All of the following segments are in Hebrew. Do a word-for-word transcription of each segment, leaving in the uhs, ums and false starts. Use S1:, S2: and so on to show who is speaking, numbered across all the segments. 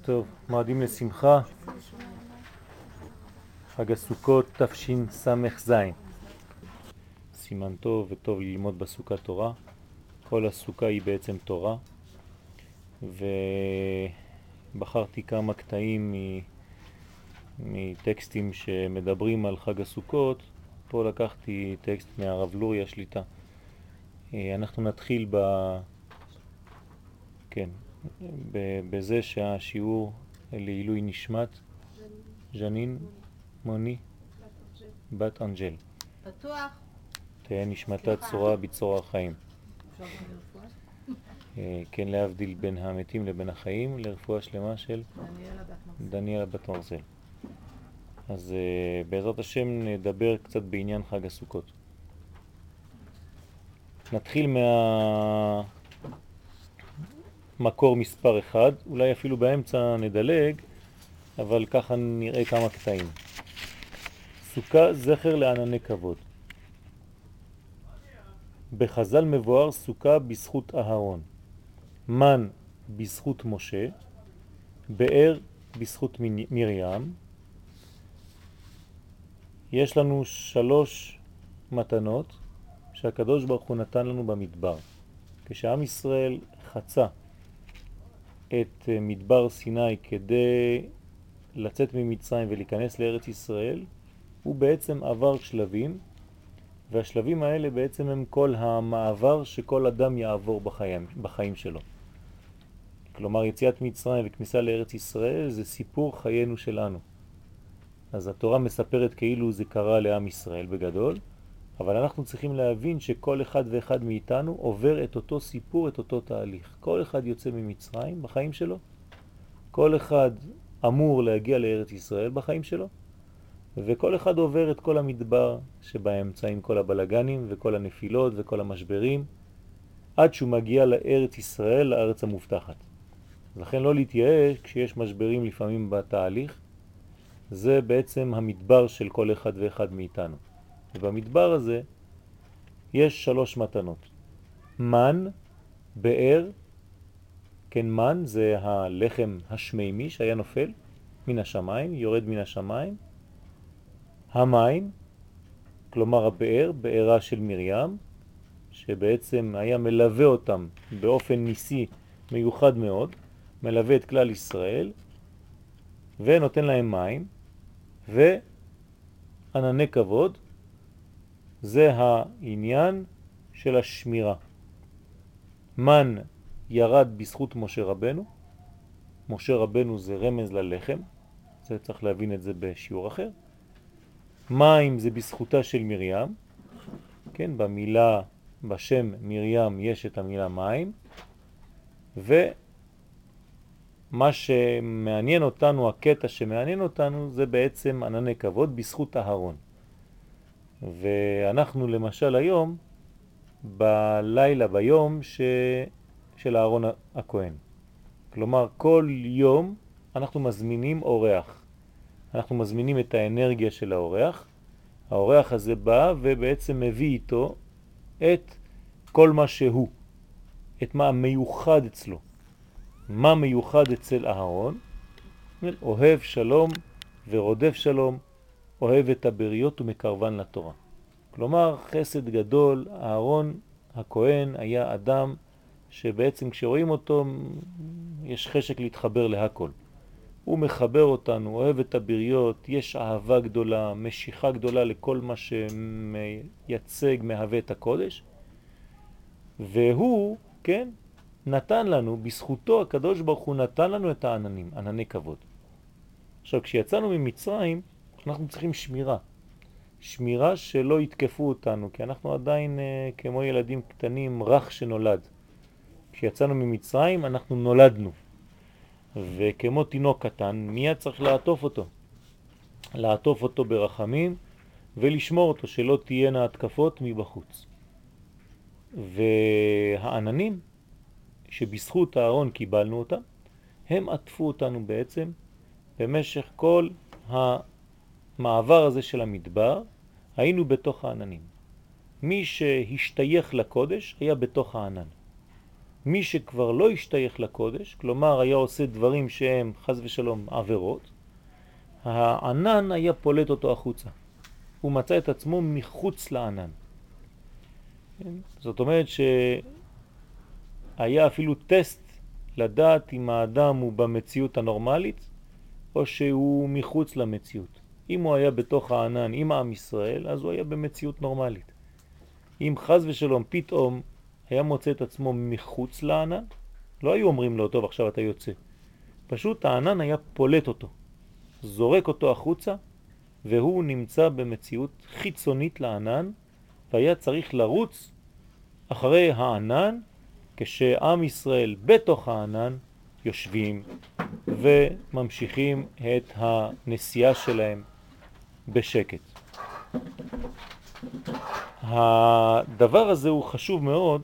S1: טוב, מועדים לשמחה, חג הסוכות תשס"ז. סימן טוב וטוב ללמוד בסוכת תורה. כל הסוכה היא בעצם תורה, ובחרתי כמה קטעים מטקסטים שמדברים על חג הסוכות. פה לקחתי טקסט מהרב לוריה שליטה. אנחנו נתחיל ב... כן, בזה שהשיעור לעילוי נשמת ז'נין מוני בת אנג'ל.
S2: פתוח.
S1: תהיה נשמתה צורה בצרור החיים. כן, להבדיל בין המתים לבין החיים, לרפואה שלמה של דניאלה בת מרזל. אז בעזרת השם נדבר קצת בעניין חג הסוכות. נתחיל מהמקור מספר אחד, אולי אפילו באמצע נדלג, אבל ככה נראה כמה קטעים. סוכה זכר לענני כבוד. בחז"ל מבואר סוכה בזכות אהרון, מן בזכות משה, באר בזכות מרים. יש לנו שלוש מתנות שהקדוש ברוך הוא נתן לנו במדבר. כשעם ישראל חצה את מדבר סיני כדי לצאת ממצרים ולהיכנס לארץ ישראל, הוא בעצם עבר שלבים, והשלבים האלה בעצם הם כל המעבר שכל אדם יעבור בחיים, בחיים שלו. כלומר, יציאת מצרים וכניסה לארץ ישראל זה סיפור חיינו שלנו. אז התורה מספרת כאילו זה קרה לעם ישראל בגדול, אבל אנחנו צריכים להבין שכל אחד ואחד מאיתנו עובר את אותו סיפור, את אותו תהליך. כל אחד יוצא ממצרים בחיים שלו, כל אחד אמור להגיע לארץ ישראל בחיים שלו, וכל אחד עובר את כל המדבר שבאמצע עם כל הבלגנים וכל הנפילות וכל המשברים, עד שהוא מגיע לארץ ישראל, לארץ המובטחת. לכן לא להתייאש כשיש משברים לפעמים בתהליך, זה בעצם המדבר של כל אחד ואחד מאיתנו. ובמדבר הזה יש שלוש מתנות. מן, באר, כן, מן זה הלחם השמימי שהיה נופל מן השמיים, יורד מן השמיים. המים, כלומר הבאר, בארה של מרים, שבעצם היה מלווה אותם באופן ניסי מיוחד מאוד, מלווה את כלל ישראל, ונותן להם מים, וענני כבוד, זה העניין של השמירה. מן ירד בזכות משה רבנו, משה רבנו זה רמז ללחם, זה צריך להבין את זה בשיעור אחר. מים זה בזכותה של מרים, כן, במילה, בשם מרים יש את המילה מים, ומה שמעניין אותנו, הקטע שמעניין אותנו, זה בעצם ענני כבוד בזכות אהרון. ואנחנו למשל היום, בלילה, ביום ש... של אהרון הכהן. כלומר, כל יום אנחנו מזמינים אורח. אנחנו מזמינים את האנרגיה של האורח. האורח הזה בא ובעצם מביא איתו את כל מה שהוא, את מה מיוחד אצלו. מה מיוחד אצל אהרון? אוהב שלום ורודף שלום, אוהב את הבריות ומקרבן לתורה. כלומר, חסד גדול. אהרון הכהן היה אדם שבעצם כשרואים אותו יש חשק להתחבר להכל. הוא מחבר אותנו, אוהב את הבריות, יש אהבה גדולה, משיכה גדולה לכל מה שמייצג, מהווה את הקודש. והוא, כן, נתן לנו, בזכותו הקדוש ברוך הוא נתן לנו את העננים, ענני כבוד. עכשיו, כשיצאנו ממצרים, אנחנו צריכים שמירה. שמירה שלא יתקפו אותנו, כי אנחנו עדיין כמו ילדים קטנים, רך שנולד. כשיצאנו ממצרים, אנחנו נולדנו. וכמו תינוק קטן, מיד צריך לעטוף אותו. לעטוף אותו ברחמים ולשמור אותו, שלא תהיינה התקפות מבחוץ. והעננים, שבזכות אהרון קיבלנו אותם, הם עטפו אותנו בעצם במשך כל המעבר הזה של המדבר, היינו בתוך העננים. מי שהשתייך לקודש היה בתוך הענן. מי שכבר לא השתייך לקודש, כלומר היה עושה דברים שהם חס ושלום עבירות, הענן היה פולט אותו החוצה. הוא מצא את עצמו מחוץ לענן. זאת אומרת שהיה אפילו טסט לדעת אם האדם הוא במציאות הנורמלית או שהוא מחוץ למציאות. אם הוא היה בתוך הענן עם עם ישראל, אז הוא היה במציאות נורמלית. אם חס ושלום פתאום היה מוצא את עצמו מחוץ לענן, לא היו אומרים לו, טוב עכשיו אתה יוצא. פשוט הענן היה פולט אותו, זורק אותו החוצה, והוא נמצא במציאות חיצונית לענן, והיה צריך לרוץ אחרי הענן, כשעם ישראל בתוך הענן יושבים וממשיכים את הנסיעה שלהם בשקט. הדבר הזה הוא חשוב מאוד,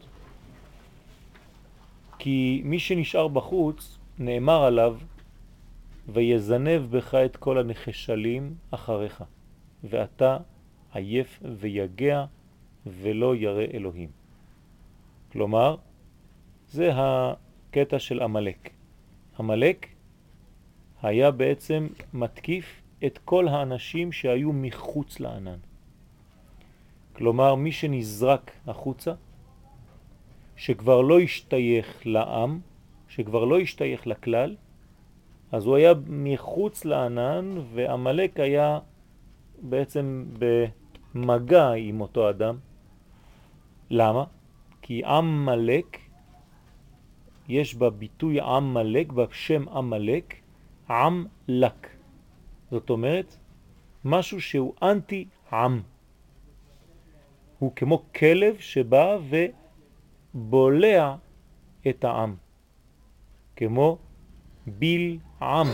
S1: כי מי שנשאר בחוץ נאמר עליו, ויזנב בך את כל הנחשלים אחריך, ואתה עייף ויגע ולא ירא אלוהים. כלומר, זה הקטע של המלאק. המלאק היה בעצם מתקיף את כל האנשים שהיו מחוץ לענן. כלומר, מי שנזרק החוצה, שכבר לא השתייך לעם, שכבר לא השתייך לכלל, אז הוא היה מחוץ לענן, והמלאק היה בעצם במגע עם אותו אדם. למה? כי עם מלאק, יש בביטוי עם מלאק, בשם עם מלאק, עם לק. זאת אומרת, משהו שהוא אנטי עם. הוא כמו כלב שבא ובולע את העם. כמו ביל עם.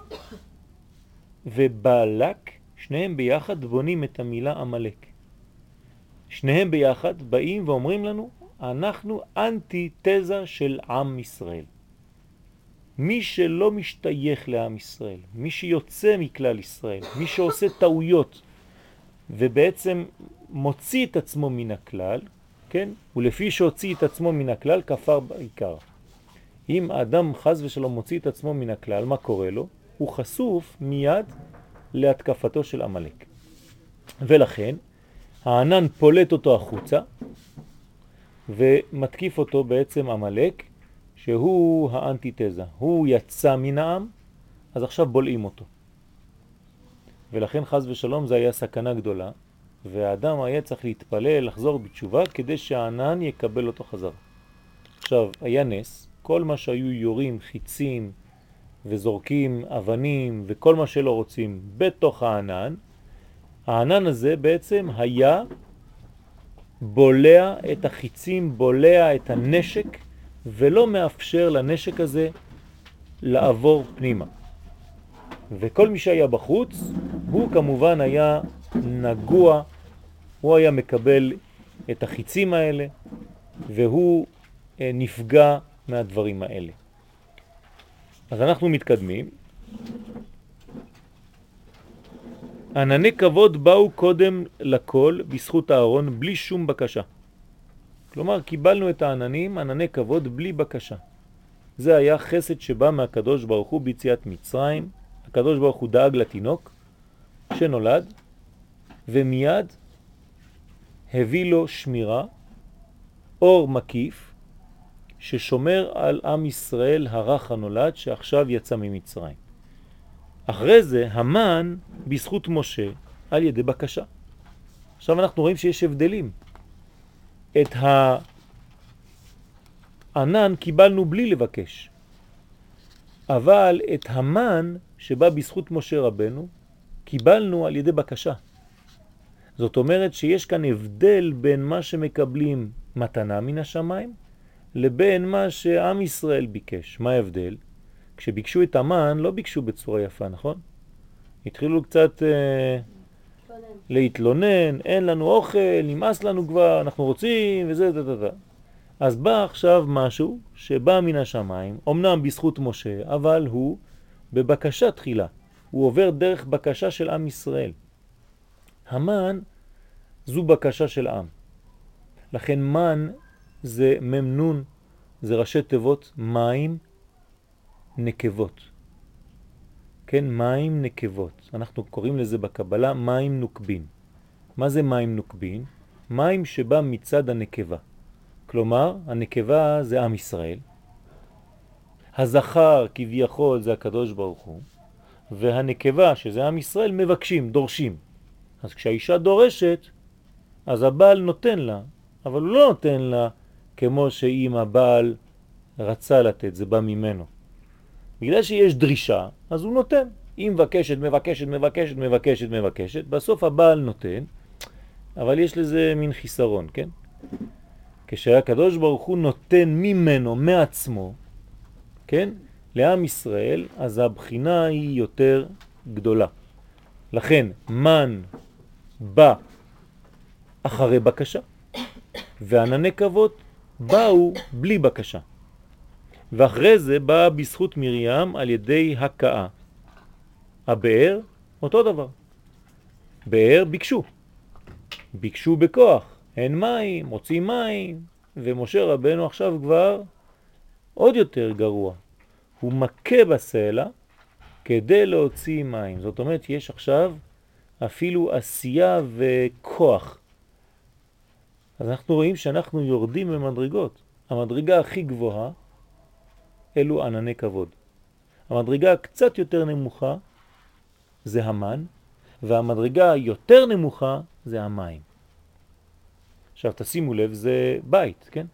S1: ובלק, שניהם ביחד בונים את המילה המלאק. שניהם ביחד באים ואומרים לנו, אנחנו אנטי תזה של עם ישראל. מי שלא משתייך לעם ישראל, מי שיוצא מכלל ישראל, מי שעושה טעויות ובעצם מוציא את עצמו מן הכלל, כן? ולפי שהוציא את עצמו מן הכלל כפר בעיקר. אם האדם חז ושלום מוציא את עצמו מן הכלל, מה קורה לו? הוא חשוף מיד להתקפתו של המלאק. ולכן הענן פולט אותו החוצה ומתקיף אותו בעצם המלאק, שהוא האנטיתזה. הוא יצא מן העם, אז עכשיו בולעים אותו. ולכן חז ושלום זה היה סכנה גדולה, והאדם היה צריך להתפלל, לחזור בתשובה, כדי שהענן יקבל אותו חזרה. עכשיו, היה נס, כל מה שהיו יורים, חיצים וזורקים אבנים וכל מה שלא רוצים בתוך הענן, הענן הזה בעצם היה בולע את החיצים, בולע את הנשק, ולא מאפשר לנשק הזה לעבור פנימה. וכל מי שהיה בחוץ, הוא כמובן היה נגוע, הוא היה מקבל את החיצים האלה, והוא נפגע מהדברים האלה. אז אנחנו מתקדמים. ענני כבוד באו קודם לכל בזכות הארון בלי שום בקשה. כלומר, קיבלנו את העננים, ענני כבוד בלי בקשה. זה היה חסד שבא מהקדוש ברוך הוא ביציאת מצרים. הקדוש ברוך הוא דאג לתינוק שנולד, ומיד הביא לו שמירה, אור מקיף, ששומר על עם ישראל הרך הנולד שעכשיו יצא ממצרים. אחרי זה המן בזכות משה על ידי בקשה. עכשיו אנחנו רואים שיש הבדלים. את הענן קיבלנו בלי לבקש, אבל את המן שבא בזכות משה רבנו קיבלנו על ידי בקשה. זאת אומרת שיש כאן הבדל בין מה שמקבלים מתנה מן השמיים לבין מה שעם ישראל ביקש. מה ההבדל? כשביקשו את המן לא ביקשו בצורה יפה, נכון? התחילו קצת אה, להתלונן, אין לנו אוכל, נמאס לנו כבר, אנחנו רוצים וזה זה זה זה. אז בא עכשיו משהו שבא מן השמיים, אמנם בזכות משה, אבל הוא בבקשה תחילה. הוא עובר דרך בקשה של עם ישראל. המן זו בקשה של עם. לכן מן זה ממנון, זה ראשי תיבות מים נקבות. כן, מים נקבות. אנחנו קוראים לזה בקבלה מים נוקבין. מה זה מים נוקבין? מים שבא מצד הנקבה. כלומר, הנקבה זה עם ישראל. הזכר כביכול זה הקדוש ברוך הוא. והנקבה שזה עם ישראל מבקשים, דורשים. אז כשהאישה דורשת, אז הבעל נותן לה. אבל הוא לא נותן לה כמו שאם הבעל רצה לתת, זה בא ממנו. בגלל שיש דרישה, אז הוא נותן. היא מבקשת, מבקשת, מבקשת, מבקשת, מבקשת. בסוף הבעל נותן, אבל יש לזה מין חיסרון, כן? כשהקדוש ברוך הוא נותן ממנו, מעצמו, כן? לעם ישראל, אז הבחינה היא יותר גדולה. לכן, מן בא אחרי בקשה, וענני כבוד באו בלי בקשה. ואחרי זה בא בזכות מרים על ידי הקאה. הבאר, אותו דבר. באר ביקשו. ביקשו בכוח. אין מים, מוצאים מים. ומשה רבנו עכשיו כבר עוד יותר גרוע. הוא מכה בסלע כדי להוציא מים. זאת אומרת, יש עכשיו אפילו עשייה וכוח. אז אנחנו רואים שאנחנו יורדים במדרגות. המדרגה הכי גבוהה אלו ענני כבוד. המדרגה קצת יותר נמוכה זה המן, והמדרגה יותר נמוכה זה המים. עכשיו תשימו לב, זה בית, כן?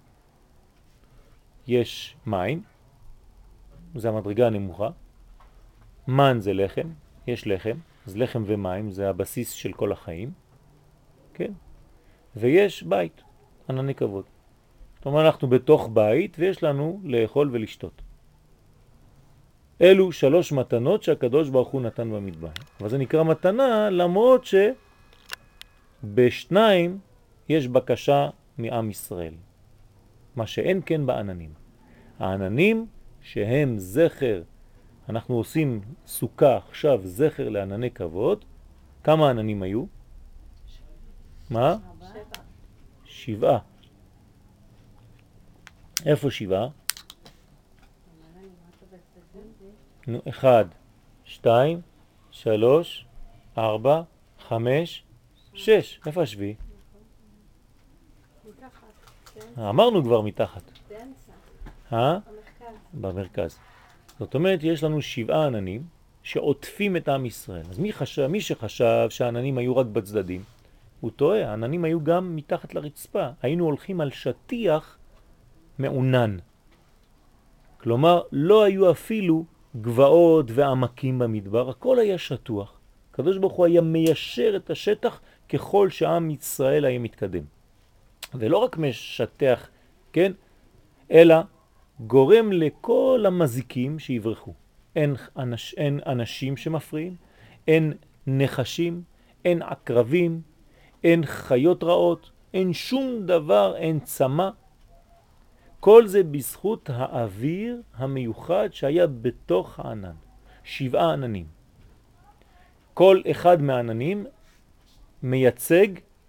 S1: יש מים, זה המדרגה הנמוכה. מן זה לחם, יש לחם, אז לחם ומים זה הבסיס של כל החיים, כן? ויש בית, ענני כבוד. זאת אומרת, אנחנו בתוך בית ויש לנו לאכול ולשתות. אלו שלוש מתנות שהקדוש ברוך הוא נתן במדבר. אבל זה נקרא מתנה למרות שבשניים יש בקשה מעם ישראל. מה שאין כן בעננים. העננים שהם זכר, אנחנו עושים סוכה עכשיו זכר לענני כבוד. כמה עננים היו? מה? שבעה. איפה שבעה? נו, אחד, שתיים, שלוש, ארבע, חמש, שש. איפה השביעי? אמרנו כבר מתחת. אה? במרכז. זאת אומרת, יש לנו שבעה עננים שעוטפים את עם ישראל. אז מי חשב, מי שחשב שהעננים היו רק בצדדים, הוא טועה. העננים היו גם מתחת לרצפה. היינו הולכים על שטיח מעונן. כלומר, לא היו אפילו גבעות ועמקים במדבר, הכל היה שטוח. הקדוש ברוך הוא היה מיישר את השטח ככל שעם ישראל היה מתקדם. ולא רק משטח, כן? אלא גורם לכל המזיקים שיברחו. אין, אנש, אין אנשים שמפריעים, אין נחשים, אין עקרבים, אין חיות רעות, אין שום דבר, אין צמא. כל זה בזכות האוויר המיוחד שהיה בתוך הענן. שבעה עננים. כל אחד מהעננים מייצג,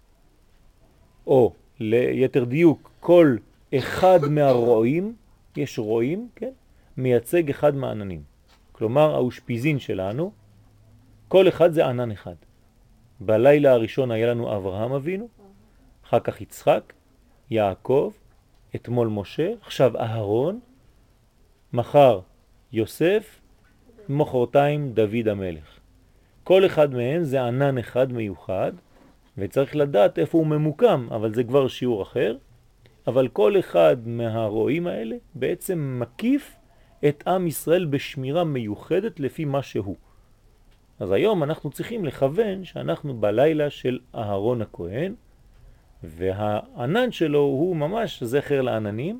S1: או ליתר דיוק, כל אחד מהרועים, יש רועים, כן? מייצג אחד מהעננים. כלומר, האושפיזין שלנו, כל אחד זה ענן אחד. בלילה הראשון היה לנו אברהם אבינו, אחר כך יצחק, יעקב, אתמול משה, עכשיו אהרון, מחר יוסף, מחרתיים דוד המלך. כל אחד מהם זה ענן אחד מיוחד, וצריך לדעת איפה הוא ממוקם, אבל זה כבר שיעור אחר. אבל כל אחד מהרועים האלה בעצם מקיף את עם ישראל בשמירה מיוחדת לפי מה שהוא. אז היום אנחנו צריכים לכוון שאנחנו בלילה של אהרון הכהן, והענן שלו הוא ממש זכר לעננים,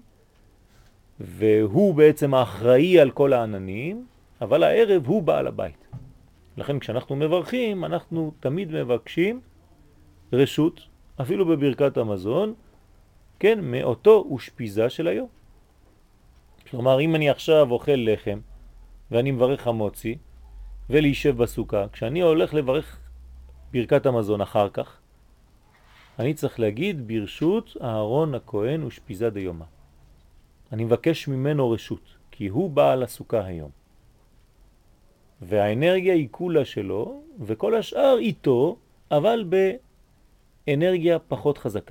S1: והוא בעצם האחראי על כל העננים, אבל הערב הוא בעל הבית. לכן כשאנחנו מברכים, אנחנו תמיד מבקשים רשות, אפילו בברכת המזון, כן, מאותו אושפיזה של היום. כלומר, אם אני עכשיו אוכל לחם, ואני מברך חמוצי, ולהישב בסוכה, כשאני הולך לברך ברכת המזון אחר כך, אני צריך להגיד ברשות אהרון הכהן ושפיזה דיומה. אני מבקש ממנו רשות, כי הוא בעל הסוכה היום. והאנרגיה היא כולה שלו, וכל השאר איתו, אבל באנרגיה פחות חזקה.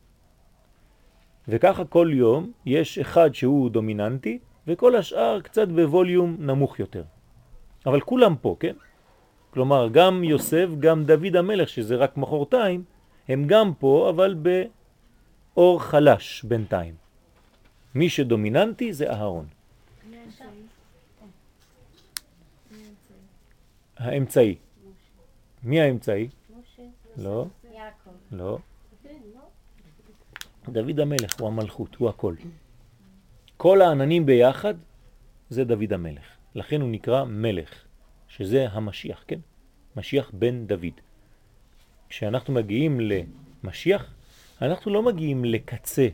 S1: וככה כל יום יש אחד שהוא דומיננטי, וכל השאר קצת בווליום נמוך יותר. אבל כולם פה, כן? כלומר, גם יוסף, גם דוד המלך, שזה רק מחורתיים, הם גם פה, אבל באור חלש בינתיים. מי שדומיננטי זה אהרון. האמצעי. מי האמצעי? לא. לא. דוד המלך הוא המלכות, הוא הכל. כל העננים ביחד זה דוד המלך. לכן הוא נקרא מלך, שזה המשיח, כן? משיח בן דוד. כשאנחנו מגיעים למשיח, אנחנו לא מגיעים לקצה.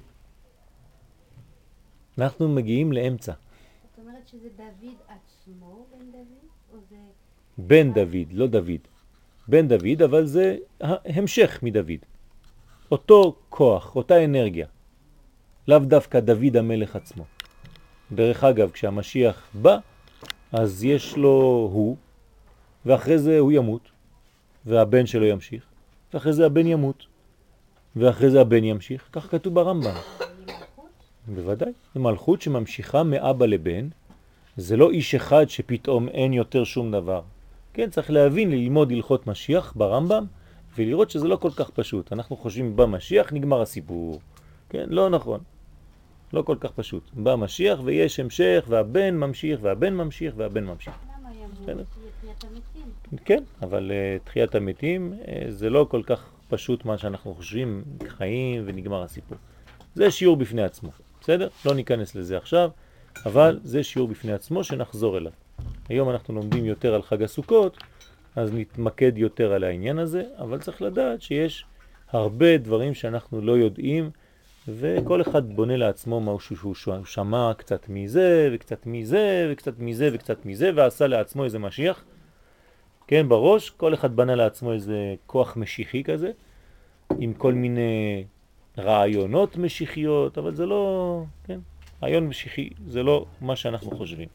S1: אנחנו מגיעים לאמצע.
S2: זאת אומרת שזה דוד עצמו בן דוד? או זה...
S1: בן דוד, לא דוד. בן דוד, אבל זה המשך מדוד. אותו כוח, אותה אנרגיה. לאו דווקא דוד המלך עצמו. דרך אגב, כשהמשיח בא, אז יש לו הוא, ואחרי זה הוא ימות, והבן שלו ימשיך, ואחרי זה הבן ימות, ואחרי זה הבן ימשיך. כך כתוב ברמב"ם. בוודאי. זה מלכות שממשיכה מאבא לבן. זה לא איש אחד שפתאום אין יותר שום דבר. כן, צריך להבין, ללמוד הלכות משיח ברמב"ם, ולראות שזה לא כל כך פשוט. אנחנו חושבים במשיח נגמר הסיפור. כן, לא נכון. לא כל כך פשוט. בא משיח ויש המשך, והבן ממשיך, והבן ממשיך, והבן ממשיך.
S2: למה ימות? תחיית המתים.
S1: כן, אבל uh, תחיית המתים uh, זה לא כל כך פשוט מה שאנחנו חושבים, חיים ונגמר הסיפור. זה שיעור בפני עצמו, בסדר? לא ניכנס לזה עכשיו, אבל זה שיעור בפני עצמו שנחזור אליו. היום אנחנו לומדים יותר על חג הסוכות, אז נתמקד יותר על העניין הזה, אבל צריך לדעת שיש הרבה דברים שאנחנו לא יודעים, וכל אחד בונה לעצמו משהו שהוא שמע קצת מזה, וקצת מזה, וקצת מזה, וקצת מזה, ועשה לעצמו איזה משיח. כן, בראש, כל אחד בנה לעצמו איזה כוח משיחי כזה, עם כל מיני רעיונות משיחיות, אבל זה לא, כן, רעיון משיחי, זה לא מה שאנחנו חושבים.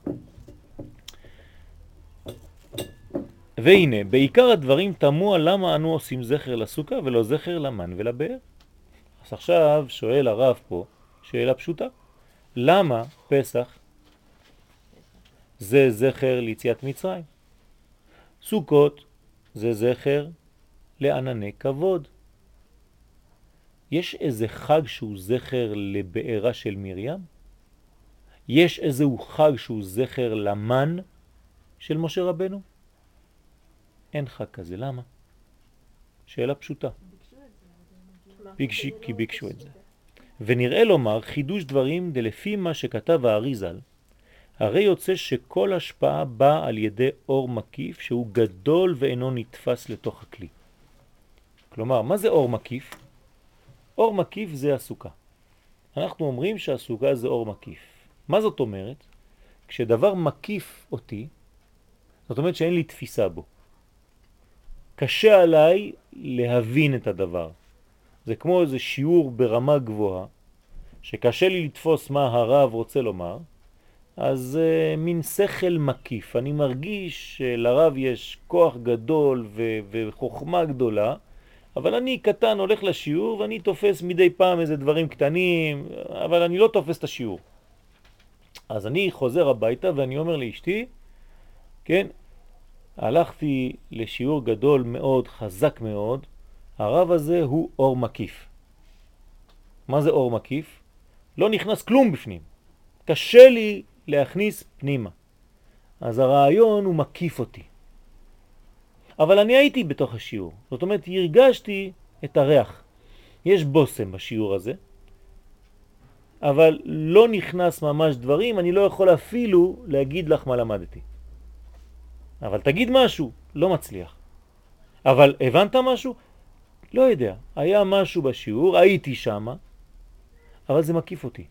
S1: והנה, בעיקר הדברים תמוה למה אנו עושים זכר לסוכה ולא זכר למן ולבאר. אז עכשיו שואל הרב פה שאלה פשוטה. למה פסח זה זכר ליציאת מצרים? סוכות זה זכר לענני כבוד. יש איזה חג שהוא זכר לבארה של מרים? יש איזהו חג שהוא זכר למן של משה רבנו? אין חג כזה, למה? שאלה פשוטה. ביקשי, כי ביקשו את זה. ונראה לומר חידוש דברים דלפי מה שכתב האריזל, הרי יוצא שכל השפעה באה על ידי אור מקיף שהוא גדול ואינו נתפס לתוך הכלי. כלומר, מה זה אור מקיף? אור מקיף זה הסוכה. אנחנו אומרים שהסוכה זה אור מקיף. מה זאת אומרת? כשדבר מקיף אותי, זאת אומרת שאין לי תפיסה בו. קשה עליי להבין את הדבר. זה כמו איזה שיעור ברמה גבוהה, שקשה לי לתפוס מה הרב רוצה לומר, אז uh, מין שכל מקיף. אני מרגיש שלרב יש כוח גדול ו- וחוכמה גדולה, אבל אני קטן הולך לשיעור ואני תופס מדי פעם איזה דברים קטנים, אבל אני לא תופס את השיעור. אז אני חוזר הביתה ואני אומר לאשתי, כן, הלכתי לשיעור גדול מאוד, חזק מאוד, הרב הזה הוא אור מקיף. מה זה אור מקיף? לא נכנס כלום בפנים. קשה לי להכניס פנימה. אז הרעיון הוא מקיף אותי. אבל אני הייתי בתוך השיעור. זאת אומרת, הרגשתי את הריח. יש בוסם בשיעור הזה, אבל לא נכנס ממש דברים, אני לא יכול אפילו להגיד לך מה למדתי. אבל תגיד משהו, לא מצליח. אבל הבנת משהו? לא יודע. היה משהו בשיעור, הייתי שם, אבל זה מקיף אותי.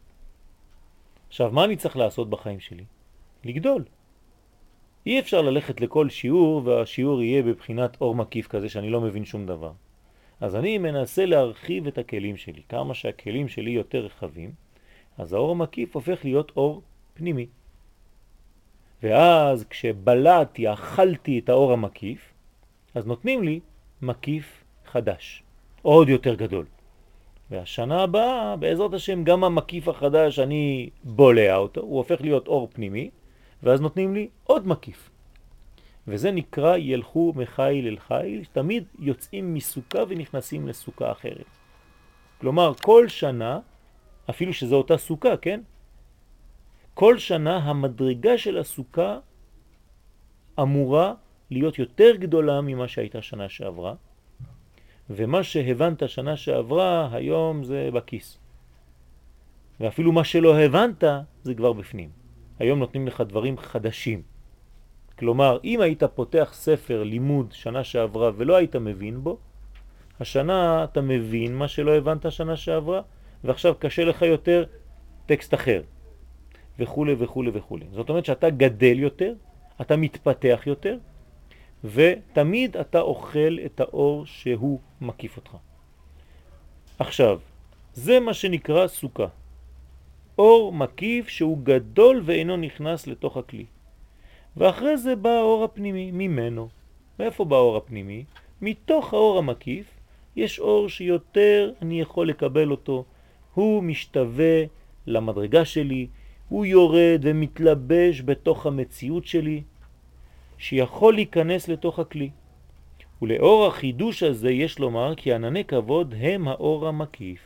S1: עכשיו, מה אני צריך לעשות בחיים שלי? לגדול. אי אפשר ללכת לכל שיעור, והשיעור יהיה בבחינת אור מקיף כזה שאני לא מבין שום דבר. אז אני מנסה להרחיב את הכלים שלי. כמה שהכלים שלי יותר רחבים, אז האור המקיף הופך להיות אור פנימי. ואז כשבלעתי, אכלתי את האור המקיף, אז נותנים לי מקיף חדש, עוד יותר גדול. והשנה הבאה, בעזרת השם, גם המקיף החדש, אני בולע אותו, הוא הופך להיות אור פנימי, ואז נותנים לי עוד מקיף. וזה נקרא ילכו מחיל אל חיל, תמיד יוצאים מסוכה ונכנסים לסוכה אחרת. כלומר, כל שנה, אפילו שזו אותה סוכה, כן? כל שנה המדרגה של הסוכה אמורה להיות יותר גדולה ממה שהייתה שנה שעברה, ומה שהבנת שנה שעברה היום זה בכיס. ואפילו מה שלא הבנת זה כבר בפנים. היום נותנים לך דברים חדשים. כלומר, אם היית פותח ספר לימוד שנה שעברה ולא היית מבין בו, השנה אתה מבין מה שלא הבנת שנה שעברה, ועכשיו קשה לך יותר טקסט אחר, וכו' וכו' וכו'. זאת אומרת שאתה גדל יותר, אתה מתפתח יותר, ותמיד אתה אוכל את האור שהוא מקיף אותך. עכשיו, זה מה שנקרא סוכה. אור מקיף שהוא גדול ואינו נכנס לתוך הכלי. ואחרי זה בא האור הפנימי ממנו. מאיפה בא האור הפנימי? מתוך האור המקיף יש אור שיותר אני יכול לקבל אותו. הוא משתווה למדרגה שלי, הוא יורד ומתלבש בתוך המציאות שלי, שיכול להיכנס לתוך הכלי. ולאור החידוש הזה יש לומר כי ענני כבוד הם האור המקיף,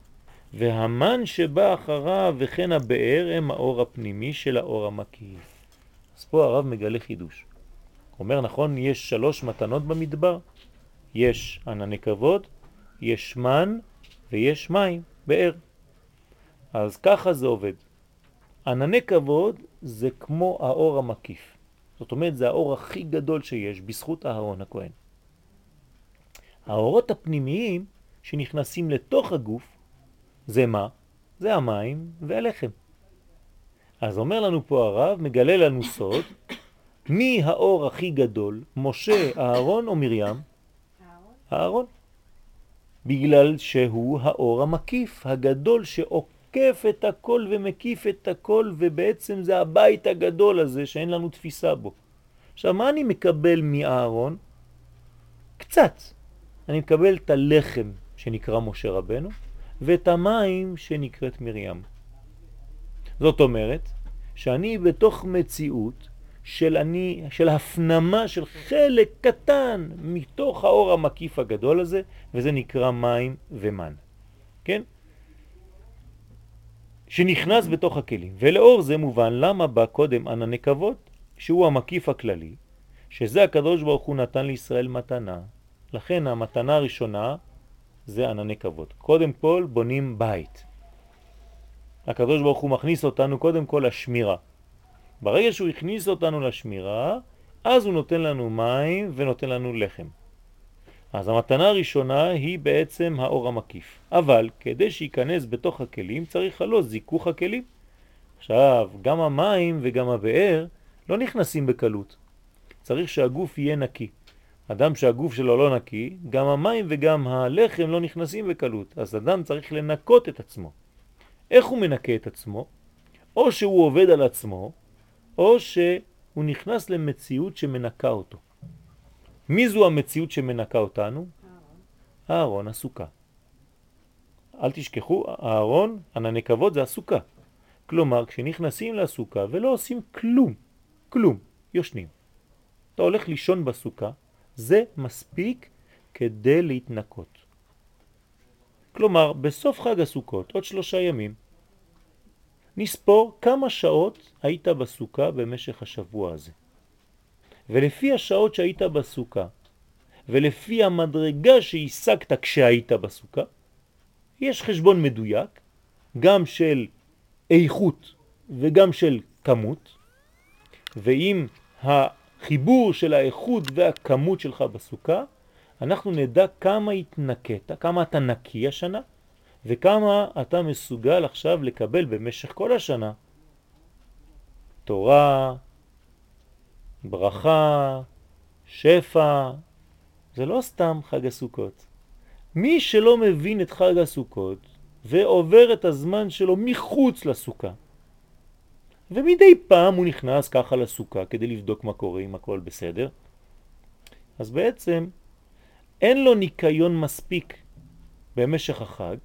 S1: והמן שבא אחריו וכן הבאר הם האור הפנימי של האור המקיף. אז פה הרב מגלה חידוש. אומר נכון, יש שלוש מתנות במדבר. יש ענני כבוד, יש מן ויש מים, באר. אז ככה זה עובד. ענני כבוד זה כמו האור המקיף. זאת אומרת, זה האור הכי גדול שיש בזכות אהרון הכהן. האורות הפנימיים שנכנסים לתוך הגוף, זה מה? זה המים והלחם. אז אומר לנו פה הרב, מגלה לנו סוד, מי האור הכי גדול, משה, אהרון או מרים?
S2: אהרון.
S1: אהרון. בגלל שהוא האור המקיף, הגדול שעוקף את הכל ומקיף את הכל, ובעצם זה הבית הגדול הזה שאין לנו תפיסה בו. עכשיו, מה אני מקבל מאהרון? קצת. אני מקבל את הלחם שנקרא משה רבנו, ואת המים שנקראת מרים. זאת אומרת, שאני בתוך מציאות של, אני, של הפנמה של חלק קטן מתוך האור המקיף הגדול הזה, וזה נקרא מים ומן. כן? שנכנס בתוך הכלים. ולאור זה מובן למה בא קודם ענני כבוד, שהוא המקיף הכללי, שזה הקדוש ברוך הוא נתן לישראל מתנה. לכן המתנה הראשונה זה ענני כבוד. קודם כל בונים בית. הקדוש ברוך הוא מכניס אותנו קודם כל לשמירה. ברגע שהוא הכניס אותנו לשמירה, אז הוא נותן לנו מים ונותן לנו לחם. אז המתנה הראשונה היא בעצם האור המקיף. אבל כדי שיכנס בתוך הכלים צריך לו זיכוך הכלים. עכשיו, גם המים וגם הבאר לא נכנסים בקלות. צריך שהגוף יהיה נקי. אדם שהגוף שלו לא נקי, גם המים וגם הלחם לא נכנסים בקלות. אז אדם צריך לנקות את עצמו. איך הוא מנקה את עצמו? או שהוא עובד על עצמו, או שהוא נכנס למציאות שמנקה אותו. מי זו המציאות שמנקה אותנו?
S2: אהרון.
S1: אהרון, הסוכה. אל תשכחו, אהרון, ענני כבוד זה הסוכה. כלומר, כשנכנסים לסוכה ולא עושים כלום, כלום, יושנים. אתה הולך לישון בסוכה, זה מספיק כדי להתנקות. כלומר, בסוף חג הסוכות, עוד שלושה ימים, נספור כמה שעות היית בסוכה במשך השבוע הזה. ולפי השעות שהיית בסוכה, ולפי המדרגה שהשגת כשהיית בסוכה, יש חשבון מדויק, גם של איכות וגם של כמות, ואם החיבור של האיכות והכמות שלך בסוכה, אנחנו נדע כמה התנקת, כמה אתה נקי השנה, וכמה אתה מסוגל עכשיו לקבל במשך כל השנה. תורה, ברכה, שפע, זה לא סתם חג הסוכות. מי שלא מבין את חג הסוכות, ועובר את הזמן שלו מחוץ לסוכה. ומדי פעם הוא נכנס ככה לסוכה כדי לבדוק מה קורה, אם הכל בסדר. אז בעצם אין לו ניקיון מספיק במשך החג,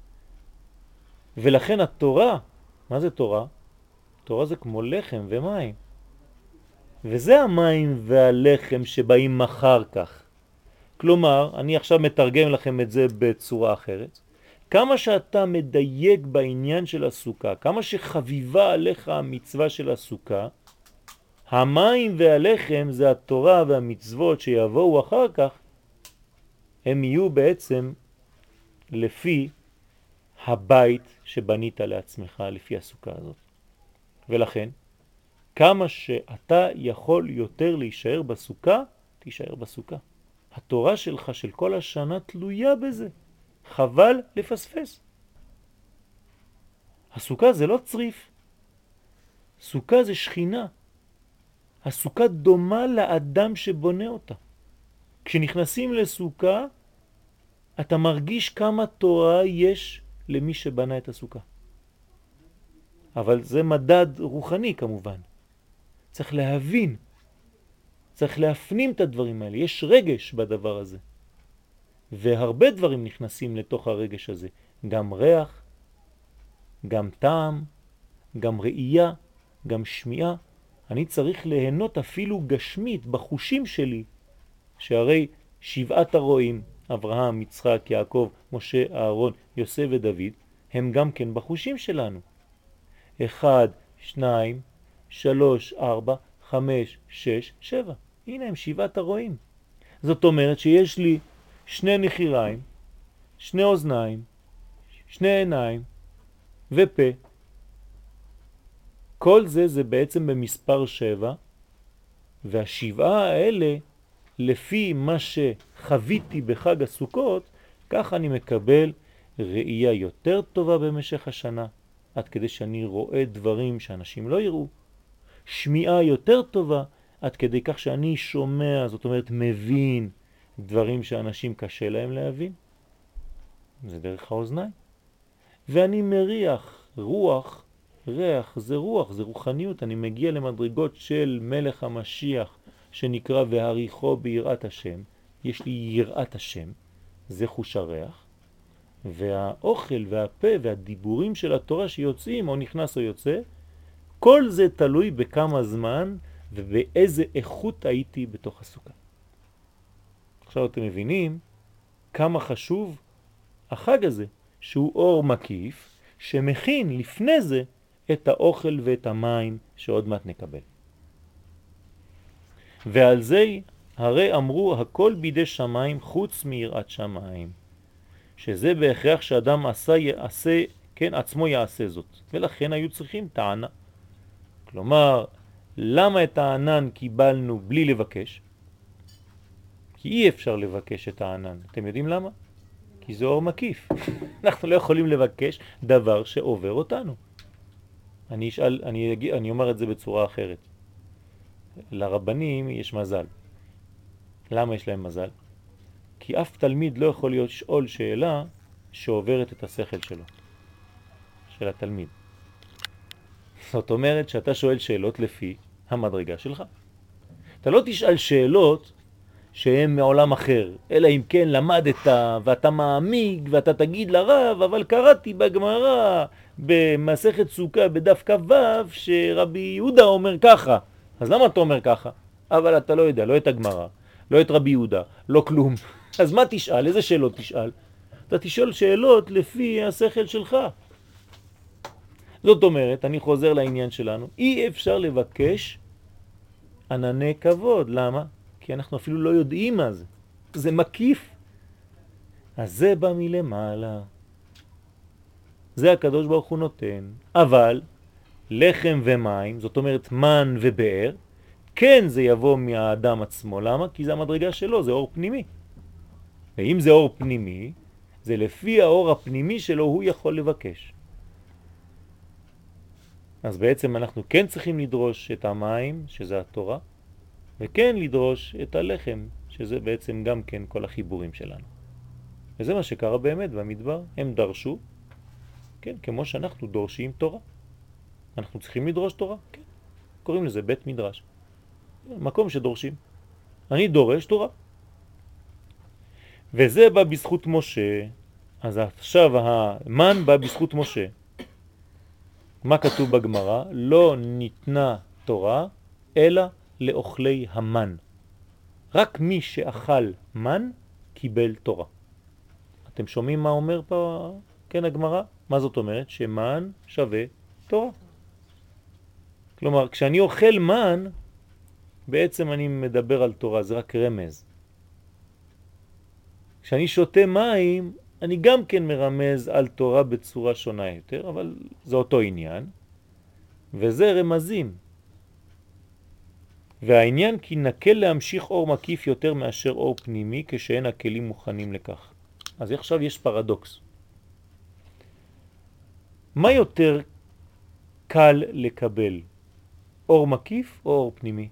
S1: ולכן התורה, מה זה תורה? תורה זה כמו לחם ומים. וזה המים והלחם שבאים מחר כך. כלומר, אני עכשיו מתרגם לכם את זה בצורה אחרת. כמה שאתה מדייק בעניין של הסוכה, כמה שחביבה עליך המצווה של הסוכה, המים והלחם זה התורה והמצוות שיבואו אחר כך, הם יהיו בעצם לפי הבית שבנית לעצמך, לפי הסוכה הזאת. ולכן, כמה שאתה יכול יותר להישאר בסוכה, תישאר בסוכה. התורה שלך של כל השנה תלויה בזה. חבל לפספס. הסוכה זה לא צריף. סוכה זה שכינה. הסוכה דומה לאדם שבונה אותה. כשנכנסים לסוכה, אתה מרגיש כמה תורה יש למי שבנה את הסוכה. אבל זה מדד רוחני כמובן. צריך להבין, צריך להפנים את הדברים האלה. יש רגש בדבר הזה. והרבה דברים נכנסים לתוך הרגש הזה. גם ריח, גם טעם, גם ראייה, גם שמיעה. אני צריך ליהנות אפילו גשמית בחושים שלי, שהרי שבעת הרועים, אברהם, יצחק, יעקב, משה, אהרון, יוסף ודוד, הם גם כן בחושים שלנו. אחד, שניים, שלוש, ארבע, חמש, שש, שבע. הנה הם שבעת הרועים. זאת אומרת שיש לי שני נחיריים, שני אוזניים, שני עיניים ופה. כל זה זה בעצם במספר שבע, והשבעה האלה, לפי מה שחוויתי בחג הסוכות, כך אני מקבל ראייה יותר טובה במשך השנה, עד כדי שאני רואה דברים שאנשים לא יראו. שמיעה יותר טובה, עד כדי כך שאני שומע, זאת אומרת מבין דברים שאנשים קשה להם להבין. זה דרך האוזניים. ואני מריח, רוח, ריח, זה רוח, זה רוחניות. אני מגיע למדרגות של מלך המשיח, שנקרא והריחו ביראת השם. יש לי יראת השם, זה חוש הריח. והאוכל והפה והדיבורים של התורה שיוצאים, או נכנס או יוצא, כל זה תלוי בכמה זמן ובאיזה איכות הייתי בתוך הסוכה. עכשיו אתם מבינים כמה חשוב החג הזה, שהוא אור מקיף, שמכין לפני זה את האוכל ואת המים שעוד מעט נקבל. ועל זה הרי אמרו הכל בידי שמיים חוץ מיראת שמיים, שזה בהכרח שאדם עשה, יעשה, כן, עצמו יעשה זאת. ולכן היו צריכים טענה. כלומר, למה את הענן קיבלנו בלי לבקש? כי אי אפשר לבקש את הענן. אתם יודעים למה? כי זה אור מקיף. אנחנו לא יכולים לבקש דבר שעובר אותנו. אני אשאל, אני, אגיד, אני אומר את זה בצורה אחרת. לרבנים יש מזל. למה יש להם מזל? כי אף תלמיד לא יכול להיות שאול שאלה שעוברת את השכל שלו, של התלמיד. זאת אומרת שאתה שואל שאלות לפי המדרגה שלך. אתה לא תשאל שאלות שהן מעולם אחר, אלא אם כן למדת ואתה מעמיק ואתה תגיד לרב, אבל קראתי בגמרא במסכת סוכה בדף כ"ו שרבי יהודה אומר ככה. אז למה אתה אומר ככה? אבל אתה לא יודע, לא את הגמרא, לא את רבי יהודה, לא כלום. אז מה תשאל? איזה שאלות תשאל? אתה תשאל שאלות לפי השכל שלך. זאת אומרת, אני חוזר לעניין שלנו, אי אפשר לבקש ענני כבוד. למה? כי אנחנו אפילו לא יודעים מה זה. זה מקיף. אז זה בא מלמעלה. זה הקדוש ברוך הוא נותן. אבל לחם ומים, זאת אומרת מן ובאר, כן זה יבוא מהאדם עצמו. למה? כי זה המדרגה שלו, זה אור פנימי. ואם זה אור פנימי, זה לפי האור הפנימי שלו הוא יכול לבקש. אז בעצם אנחנו כן צריכים לדרוש את המים, שזה התורה, וכן לדרוש את הלחם, שזה בעצם גם כן כל החיבורים שלנו. וזה מה שקרה באמת במדבר. הם דרשו כן, כמו שאנחנו דורשים תורה. אנחנו צריכים לדרוש תורה, כן. קוראים לזה בית מדרש. מקום שדורשים. אני דורש תורה. וזה בא בזכות משה. אז עכשיו המן בא בזכות משה. מה כתוב בגמרא? לא ניתנה תורה אלא לאוכלי המן. רק מי שאכל מן קיבל תורה. אתם שומעים מה אומר פה, כן, הגמרא? מה זאת אומרת? שמן שווה תורה. כלומר, כשאני אוכל מן, בעצם אני מדבר על תורה, זה רק רמז. כשאני שותה מים, אני גם כן מרמז על תורה בצורה שונה יותר, אבל זה אותו עניין, וזה רמזים. והעניין כי נקל להמשיך אור מקיף יותר מאשר אור פנימי, כשאין הכלים מוכנים לכך. אז עכשיו יש פרדוקס. מה יותר קל לקבל? אור מקיף או אור פנימי?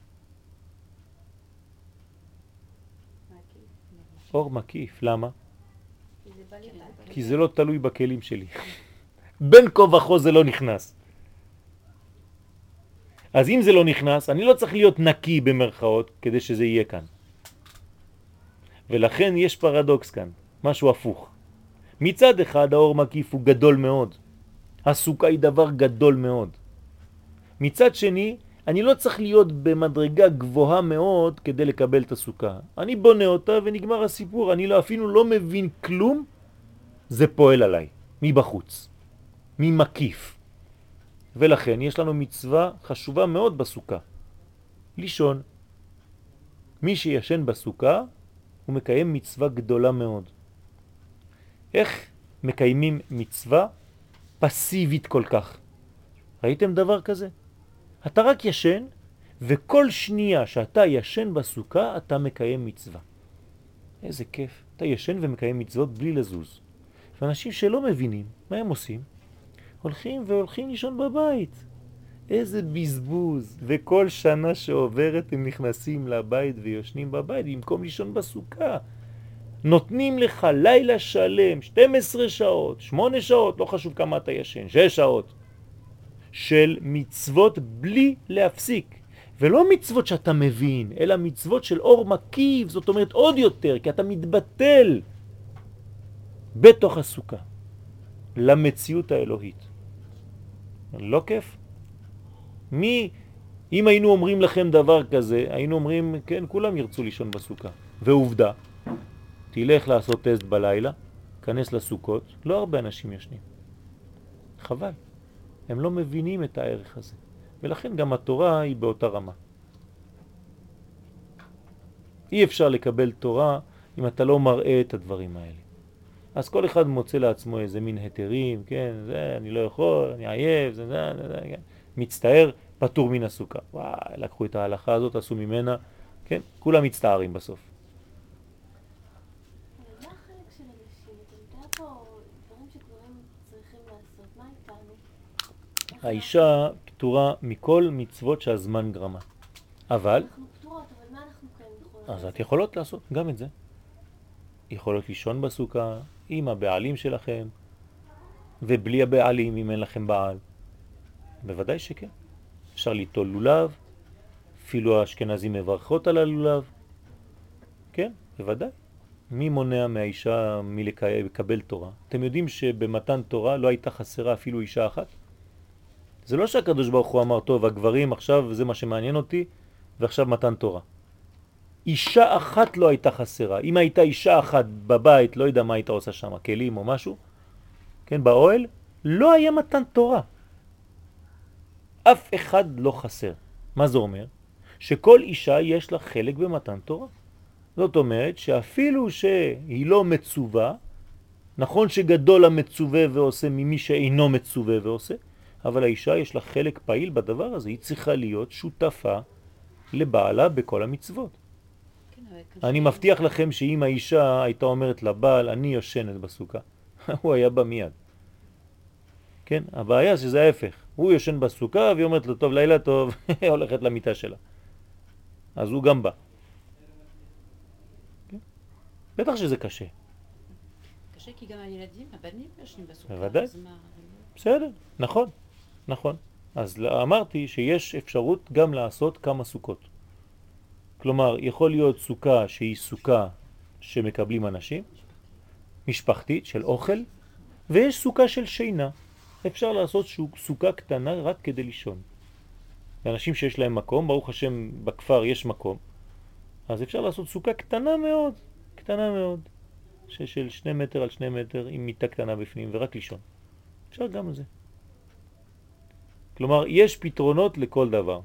S1: אור מקיף, למה? כי זה לא תלוי בכלים שלי. בין כה וכה זה לא נכנס. אז אם זה לא נכנס, אני לא צריך להיות נקי במרכאות כדי שזה יהיה כאן. ולכן יש פרדוקס כאן, משהו הפוך. מצד אחד האור מקיף הוא גדול מאוד. הסוכה היא דבר גדול מאוד. מצד שני, אני לא צריך להיות במדרגה גבוהה מאוד כדי לקבל את הסוכה. אני בונה אותה ונגמר הסיפור. אני לא, אפילו לא מבין כלום, זה פועל עליי, מבחוץ, ממקיף. ולכן יש לנו מצווה חשובה מאוד בסוכה. לישון. מי שישן בסוכה, הוא מקיים מצווה גדולה מאוד. איך מקיימים מצווה פסיבית כל כך? ראיתם דבר כזה? אתה רק ישן, וכל שנייה שאתה ישן בסוכה, אתה מקיים מצווה. איזה כיף. אתה ישן ומקיים מצוות בלי לזוז. ואנשים שלא מבינים, מה הם עושים? הולכים והולכים לישון בבית. איזה בזבוז. וכל שנה שעוברת הם נכנסים לבית ויושנים בבית, במקום לישון בסוכה. נותנים לך לילה שלם, שתים עשרה שעות, שמונה שעות, לא חשוב כמה אתה ישן, שש שעות, של מצוות בלי להפסיק. ולא מצוות שאתה מבין, אלא מצוות של אור מקיף, זאת אומרת עוד יותר, כי אתה מתבטל בתוך הסוכה למציאות האלוהית. לא כיף? מי, אם היינו אומרים לכם דבר כזה, היינו אומרים, כן, כולם ירצו לישון בסוכה. ועובדה, תלך לעשות טסט בלילה, כנס לסוכות, לא הרבה אנשים ישנים. חבל. הם לא מבינים את הערך הזה. ולכן גם התורה היא באותה רמה. אי אפשר לקבל תורה אם אתה לא מראה את הדברים האלה. אז כל אחד מוצא לעצמו איזה מין היתרים, כן, זה, אני לא יכול, אני עייב, זה, זה, זה, זה, כן. מצטער, פטור מן הסוכה. וואי, לקחו את ההלכה הזאת, עשו ממנה, כן, כולם מצטערים בסוף.
S3: מה החלק של אנשים? אתה יודע פה דברים שגברים צריכים לעשות, מה איתנו?
S1: האישה פטורה מכל מצוות שהזמן גרמה. אבל...
S3: אנחנו פטורות, אבל מה אנחנו כן יכולות?
S1: אז את יכולות לעשות גם את זה. יכולות לישון בסוכה עם הבעלים שלכם, ובלי הבעלים אם אין לכם בעל. בוודאי שכן. אפשר ליטול לולב, אפילו האשכנזים מברכות על הלולב. כן, בוודאי. מי מונע מהאישה מלקבל תורה? אתם יודעים שבמתן תורה לא הייתה חסרה אפילו אישה אחת? זה לא שהקדוש ברוך הוא אמר, טוב, הגברים עכשיו זה מה שמעניין אותי, ועכשיו מתן תורה. אישה אחת לא הייתה חסרה. אם הייתה אישה אחת בבית, לא יודע מה הייתה עושה שם, כלים או משהו, כן, באוהל, לא היה מתן תורה. אף אחד לא חסר. מה זה אומר? שכל אישה יש לה חלק במתן תורה. זאת אומרת שאפילו שהיא לא מצווה, נכון שגדול המצווה ועושה ממי שאינו מצווה ועושה, אבל האישה יש לה חלק פעיל בדבר הזה, היא צריכה להיות שותפה לבעלה בכל המצוות. אני מבטיח לכם שאם האישה הייתה אומרת לבעל, אני יושנת בסוכה, הוא היה בא מיד. כן, הבעיה שזה ההפך. הוא יושן בסוכה והיא אומרת לו, טוב, לילה טוב, הולכת למיטה שלה. אז הוא גם בא. כן? בטח שזה קשה.
S4: קשה כי גם הילדים, הבנים יושנים בסוכה.
S1: בוודאי.
S4: אז מה,
S1: בסדר, נכון, נכון. אז אמרתי שיש אפשרות גם לעשות כמה סוכות. כלומר, יכול להיות סוכה שהיא סוכה שמקבלים אנשים, משפחתית של אוכל, ויש סוכה של שינה. אפשר לעשות סוכה קטנה רק כדי לישון. לאנשים שיש להם מקום, ברוך השם בכפר יש מקום, אז אפשר לעשות סוכה קטנה מאוד, קטנה מאוד, של שני מטר על שני מטר עם מיטה קטנה בפנים ורק לישון. אפשר גם זה. כלומר, יש פתרונות לכל דבר.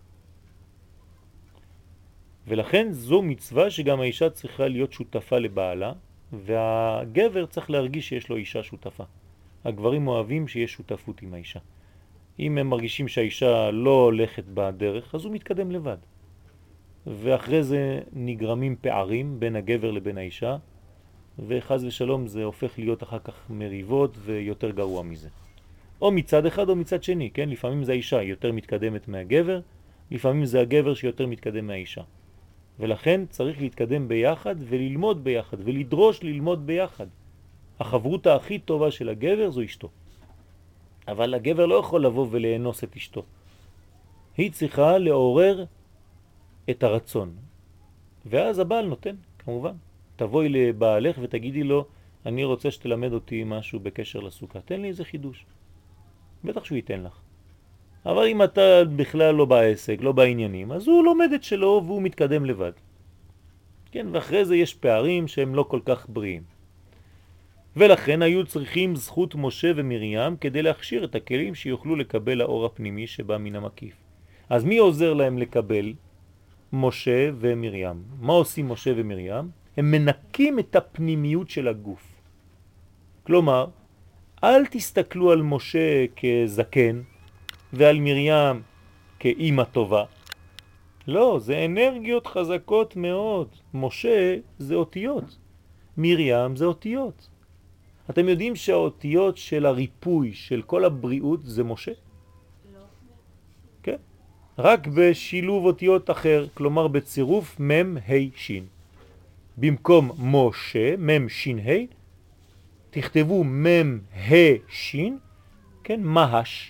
S1: ולכן זו מצווה שגם האישה צריכה להיות שותפה לבעלה, והגבר צריך להרגיש שיש לו אישה שותפה. הגברים אוהבים שיש שותפות עם האישה. אם הם מרגישים שהאישה לא הולכת בדרך, אז הוא מתקדם לבד. ואחרי זה נגרמים פערים בין הגבר לבין האישה, וחז ושלום זה הופך להיות אחר כך מריבות ויותר גרוע מזה. או מצד אחד או מצד שני, כן? לפעמים זה האישה יותר מתקדמת מהגבר, לפעמים זה הגבר שיותר מתקדם מהאישה. ולכן צריך להתקדם ביחד וללמוד ביחד ולדרוש ללמוד ביחד. החברות הכי טובה של הגבר זו אשתו. אבל הגבר לא יכול לבוא ולאנוס את אשתו. היא צריכה לעורר את הרצון. ואז הבעל נותן, כמובן. תבואי לבעלך ותגידי לו, אני רוצה שתלמד אותי משהו בקשר לסוכה. תן לי איזה חידוש. בטח שהוא ייתן לך. אבל אם אתה בכלל לא בעסק, לא בעניינים, אז הוא לומד את שלו והוא מתקדם לבד. כן, ואחרי זה יש פערים שהם לא כל כך בריאים. ולכן היו צריכים זכות משה ומרים כדי להכשיר את הכלים שיוכלו לקבל האור הפנימי שבא מן המקיף. אז מי עוזר להם לקבל? משה ומרים. מה עושים משה ומרים? הם מנקים את הפנימיות של הגוף. כלומר, אל תסתכלו על משה כזקן ועל מרים כאימא טובה. לא, זה אנרגיות חזקות מאוד. משה זה אותיות, מרים זה אותיות. אתם יודעים שהאותיות של הריפוי של כל הבריאות זה משה?
S3: לא.
S1: כן. רק בשילוב אותיות אחר, כלומר בצירוף מם ה' שין. במקום משה, מם שין ה', תכתבו מם ה' שין, כן, מהש.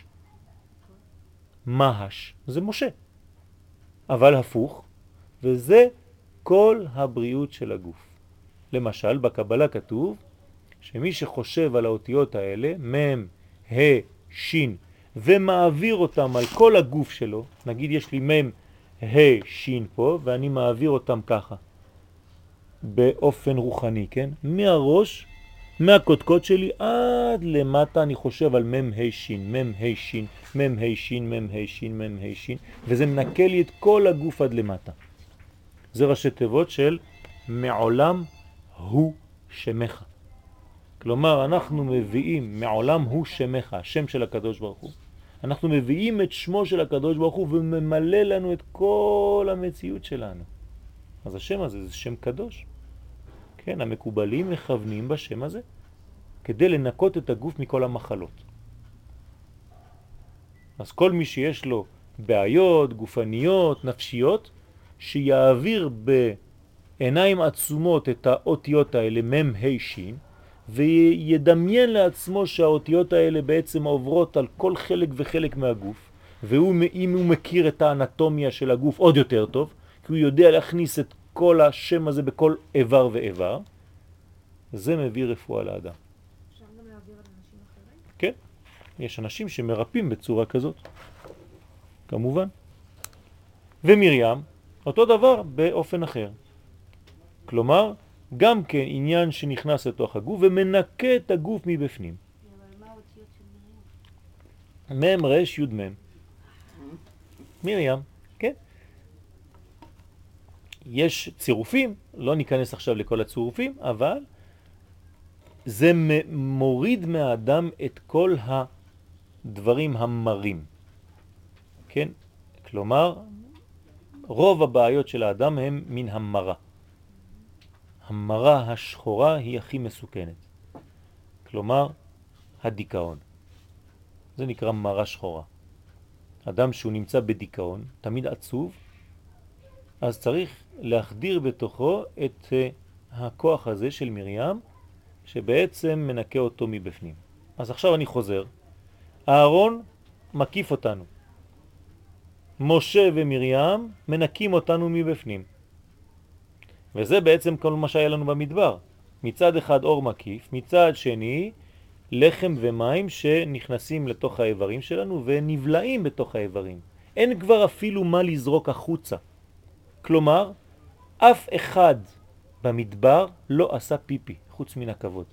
S1: מהש, זה משה. אבל הפוך, וזה כל הבריאות של הגוף. למשל, בקבלה כתוב שמי שחושב על האותיות האלה, מם, ה', שין, ומעביר אותם על כל הגוף שלו, נגיד יש לי מם, ה', שין פה, ואני מעביר אותם ככה, באופן רוחני, כן? מהראש, מהקודקוד שלי עד למטה אני חושב על מם ה' שין, מם ה' שין, מם ה' שין, מם ה' שין, מם ה' שין, וזה מנקה לי את כל הגוף עד למטה. זה ראשי תיבות של מעולם הוא שמך. כלומר, אנחנו מביאים, מעולם הוא שמך, השם של הקדוש ברוך הוא. אנחנו מביאים את שמו של הקדוש ברוך הוא וממלא לנו את כל המציאות שלנו. אז השם הזה זה שם קדוש. כן, המקובלים מכוונים בשם הזה כדי לנקות את הגוף מכל המחלות. אז כל מי שיש לו בעיות גופניות, נפשיות, שיעביר בעיניים עצומות את האותיות האלה, מם ה' שין, וידמיין לעצמו שהאותיות האלה בעצם עוברות על כל חלק וחלק מהגוף, ואם הוא מכיר את האנטומיה של הגוף עוד יותר טוב, כי הוא יודע להכניס את כל השם הזה בכל איבר ואיבר, זה מביא רפואה לאדם.
S2: אפשר גם להעביר על אנשים אחרים?
S1: כן, יש אנשים שמרפאים בצורה כזאת, כמובן. ומרים, אותו דבר באופן אחר. כלומר, גם כן עניין שנכנס לתוך הגוף ומנקה את הגוף מבפנים.
S3: אבל מה האותיות של מרים?
S1: מם רש יוד מם. מרים, כן. יש צירופים, לא ניכנס עכשיו לכל הצירופים, אבל זה מוריד מהאדם את כל הדברים המרים. כן? כלומר, רוב הבעיות של האדם הם מן המרה. המרה השחורה היא הכי מסוכנת. כלומר, הדיכאון. זה נקרא מרה שחורה. אדם שהוא נמצא בדיכאון, תמיד עצוב, אז צריך להחדיר בתוכו את הכוח הזה של מרים, שבעצם מנקה אותו מבפנים. אז עכשיו אני חוזר. אהרון מקיף אותנו. משה ומרים מנקים אותנו מבפנים. וזה בעצם כל מה שהיה לנו במדבר. מצד אחד אור מקיף, מצד שני לחם ומים שנכנסים לתוך האיברים שלנו ונבלעים בתוך האיברים. אין כבר אפילו מה לזרוק החוצה. כלומר, אף אחד במדבר לא עשה פיפי, חוץ מן הכבוד.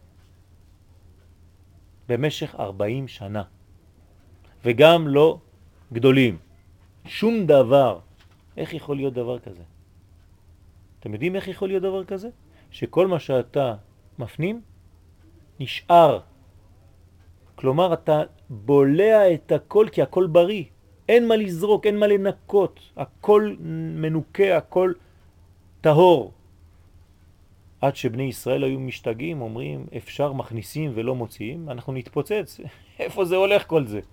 S1: במשך ארבעים שנה. וגם לא גדולים. שום דבר. איך יכול להיות דבר כזה? אתם יודעים איך יכול להיות דבר כזה? שכל מה שאתה מפנים נשאר. כלומר, אתה בולע את הכל כי הכל בריא. אין מה לזרוק, אין מה לנקות. הכל מנוקה, הכל טהור. עד שבני ישראל היו משתגעים, אומרים, אפשר מכניסים ולא מוציאים, אנחנו נתפוצץ. איפה זה הולך כל זה?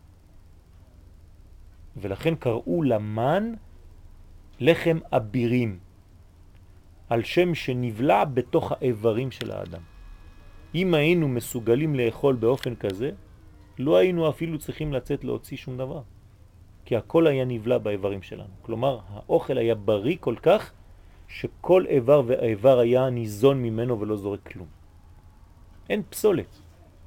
S1: ולכן קראו למן לחם אבירים, על שם שנבלע בתוך האיברים של האדם. אם היינו מסוגלים לאכול באופן כזה, לא היינו אפילו צריכים לצאת להוציא שום דבר. כי הכל היה נבלע באיברים שלנו. כלומר, האוכל היה בריא כל כך, שכל איבר ואיבר היה ניזון ממנו ולא זורק כלום. אין פסולת.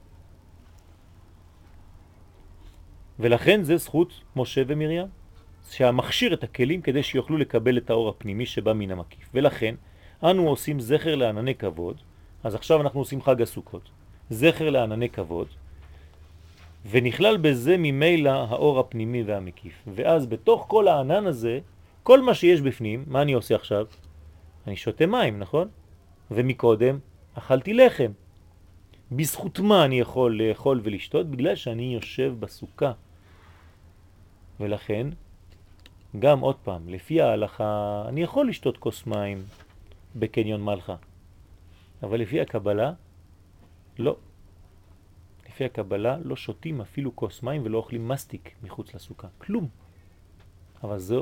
S1: ולכן זה זכות משה ומרים, שהמכשיר את הכלים כדי שיוכלו לקבל את האור הפנימי שבא מן המקיף. ולכן אנו עושים זכר לענני כבוד, אז עכשיו אנחנו עושים חג הסוכות, זכר לענני כבוד, ונכלל בזה ממילא האור הפנימי והמקיף. ואז בתוך כל הענן הזה, כל מה שיש בפנים, מה אני עושה עכשיו? אני שותה מים, נכון? ומקודם אכלתי לחם. בזכות מה אני יכול לאכול ולשתות? בגלל שאני יושב בסוכה. ולכן, גם עוד פעם, לפי ההלכה, אני יכול לשתות כוס מים בקניון מלכה. אבל לפי הקבלה, לא. לפי הקבלה לא שותים אפילו כוס מים ולא אוכלים מסטיק מחוץ לסוכה. כלום. אבל זו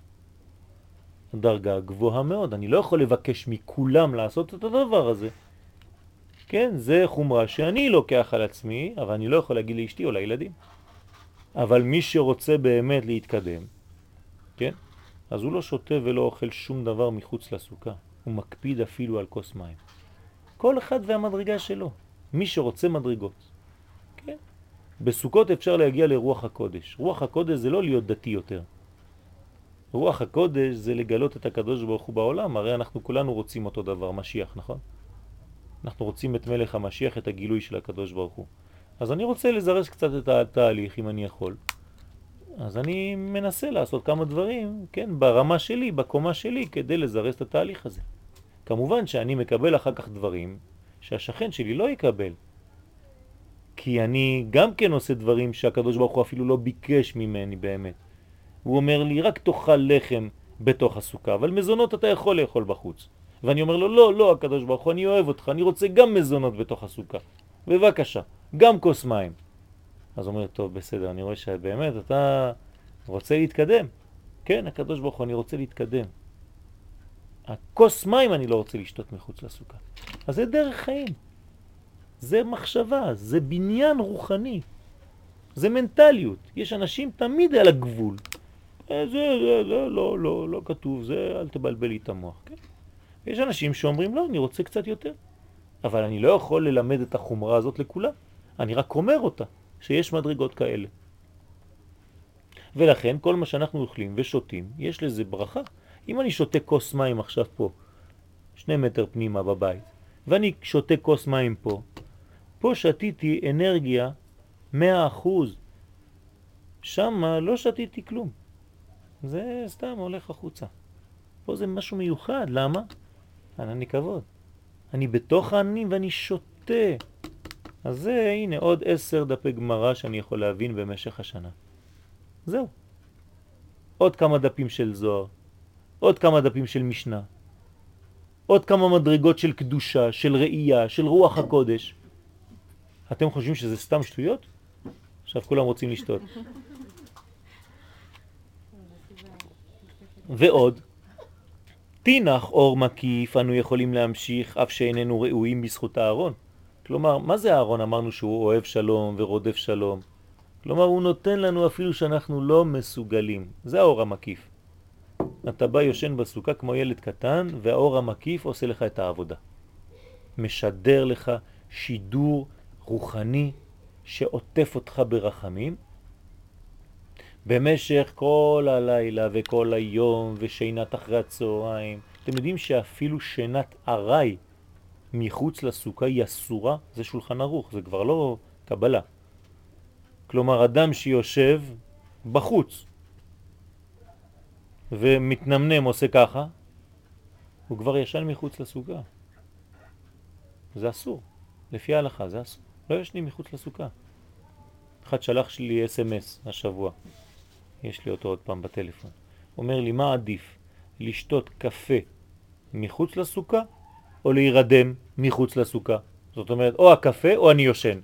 S1: דרגה גבוהה מאוד. אני לא יכול לבקש מכולם לעשות את הדבר הזה. כן, זה חומרה שאני לוקח על עצמי, אבל אני לא יכול להגיד לאשתי או לילדים. אבל מי שרוצה באמת להתקדם, כן? אז הוא לא שותה ולא אוכל שום דבר מחוץ לסוכה. הוא מקפיד אפילו על כוס מים. כל אחד והמדרגה שלו. מי שרוצה מדרגות. כן? בסוכות אפשר להגיע לרוח הקודש. רוח הקודש זה לא להיות דתי יותר. רוח הקודש זה לגלות את הקדוש ברוך הוא בעולם. הרי אנחנו כולנו רוצים אותו דבר, משיח, נכון? אנחנו רוצים את מלך המשיח, את הגילוי של הקדוש ברוך הוא. אז אני רוצה לזרז קצת את התהליך, אם אני יכול. אז אני מנסה לעשות כמה דברים, כן, ברמה שלי, בקומה שלי, כדי לזרז את התהליך הזה. כמובן שאני מקבל אחר כך דברים שהשכן שלי לא יקבל. כי אני גם כן עושה דברים שהקדוש ברוך הוא אפילו לא ביקש ממני באמת. הוא אומר לי, רק תאכל לחם בתוך הסוכה, אבל מזונות אתה יכול לאכול בחוץ. ואני אומר לו, לא, לא, הקדוש ברוך הוא, אני אוהב אותך, אני רוצה גם מזונות בתוך הסוכה. בבקשה, גם כוס מים. אז הוא אומר, טוב, בסדר, אני רואה שבאמת אתה רוצה להתקדם. כן, הקדוש ברוך הוא, אני רוצה להתקדם. הכוס מים אני לא רוצה לשתות מחוץ לסוכה. אז זה דרך חיים. זה מחשבה, זה בניין רוחני. זה מנטליות. יש אנשים תמיד על הגבול. זה, זה, זה, לא, לא, לא כתוב, זה, אל תבלבל לי את המוח. כן? יש אנשים שאומרים, לא, אני רוצה קצת יותר. אבל אני לא יכול ללמד את החומרה הזאת לכולם. אני רק אומר אותה, שיש מדרגות כאלה. ולכן, כל מה שאנחנו אוכלים ושותים, יש לזה ברכה. אם אני שותה כוס מים עכשיו פה, שני מטר פנימה בבית, ואני שותה כוס מים פה, פה שתיתי אנרגיה מאה אחוז. שם לא שתיתי כלום. זה סתם הולך החוצה. פה זה משהו מיוחד. למה? אני כבוד. אני בתוך העננים ואני שותה. אז זה, הנה, עוד עשר דפי גמרא שאני יכול להבין במשך השנה. זהו. עוד כמה דפים של זוהר. עוד כמה דפים של משנה. עוד כמה מדרגות של קדושה, של ראייה, של רוח הקודש. אתם חושבים שזה סתם שטויות? עכשיו כולם רוצים לשתות. ועוד, תינח אור מקיף, אנו יכולים להמשיך אף שאיננו ראויים בזכות הארון. כלומר, מה זה הארון? אמרנו שהוא אוהב שלום ורודף שלום. כלומר, הוא נותן לנו אפילו שאנחנו לא מסוגלים. זה האור המקיף. אתה בא יושן בסוכה כמו ילד קטן, והאור המקיף עושה לך את העבודה. משדר לך שידור רוחני שעוטף אותך ברחמים, במשך כל הלילה וכל היום ושינת אחרי הצהריים. אתם יודעים שאפילו שינת ערי מחוץ לסוכה היא אסורה? זה שולחן ערוך, זה כבר לא קבלה. כלומר, אדם שיושב בחוץ ומתנמנם עושה ככה, הוא כבר ישן מחוץ לסוכה. זה אסור. לפי ההלכה זה אסור. לא ישנים מחוץ לסוכה. אחד שלח לי אס אם אס השבוע. יש לי אותו עוד פעם בטלפון. אומר לי, מה עדיף? לשתות קפה מחוץ לסוכה או להירדם מחוץ לסוכה? זאת אומרת, או הקפה או אני יושן.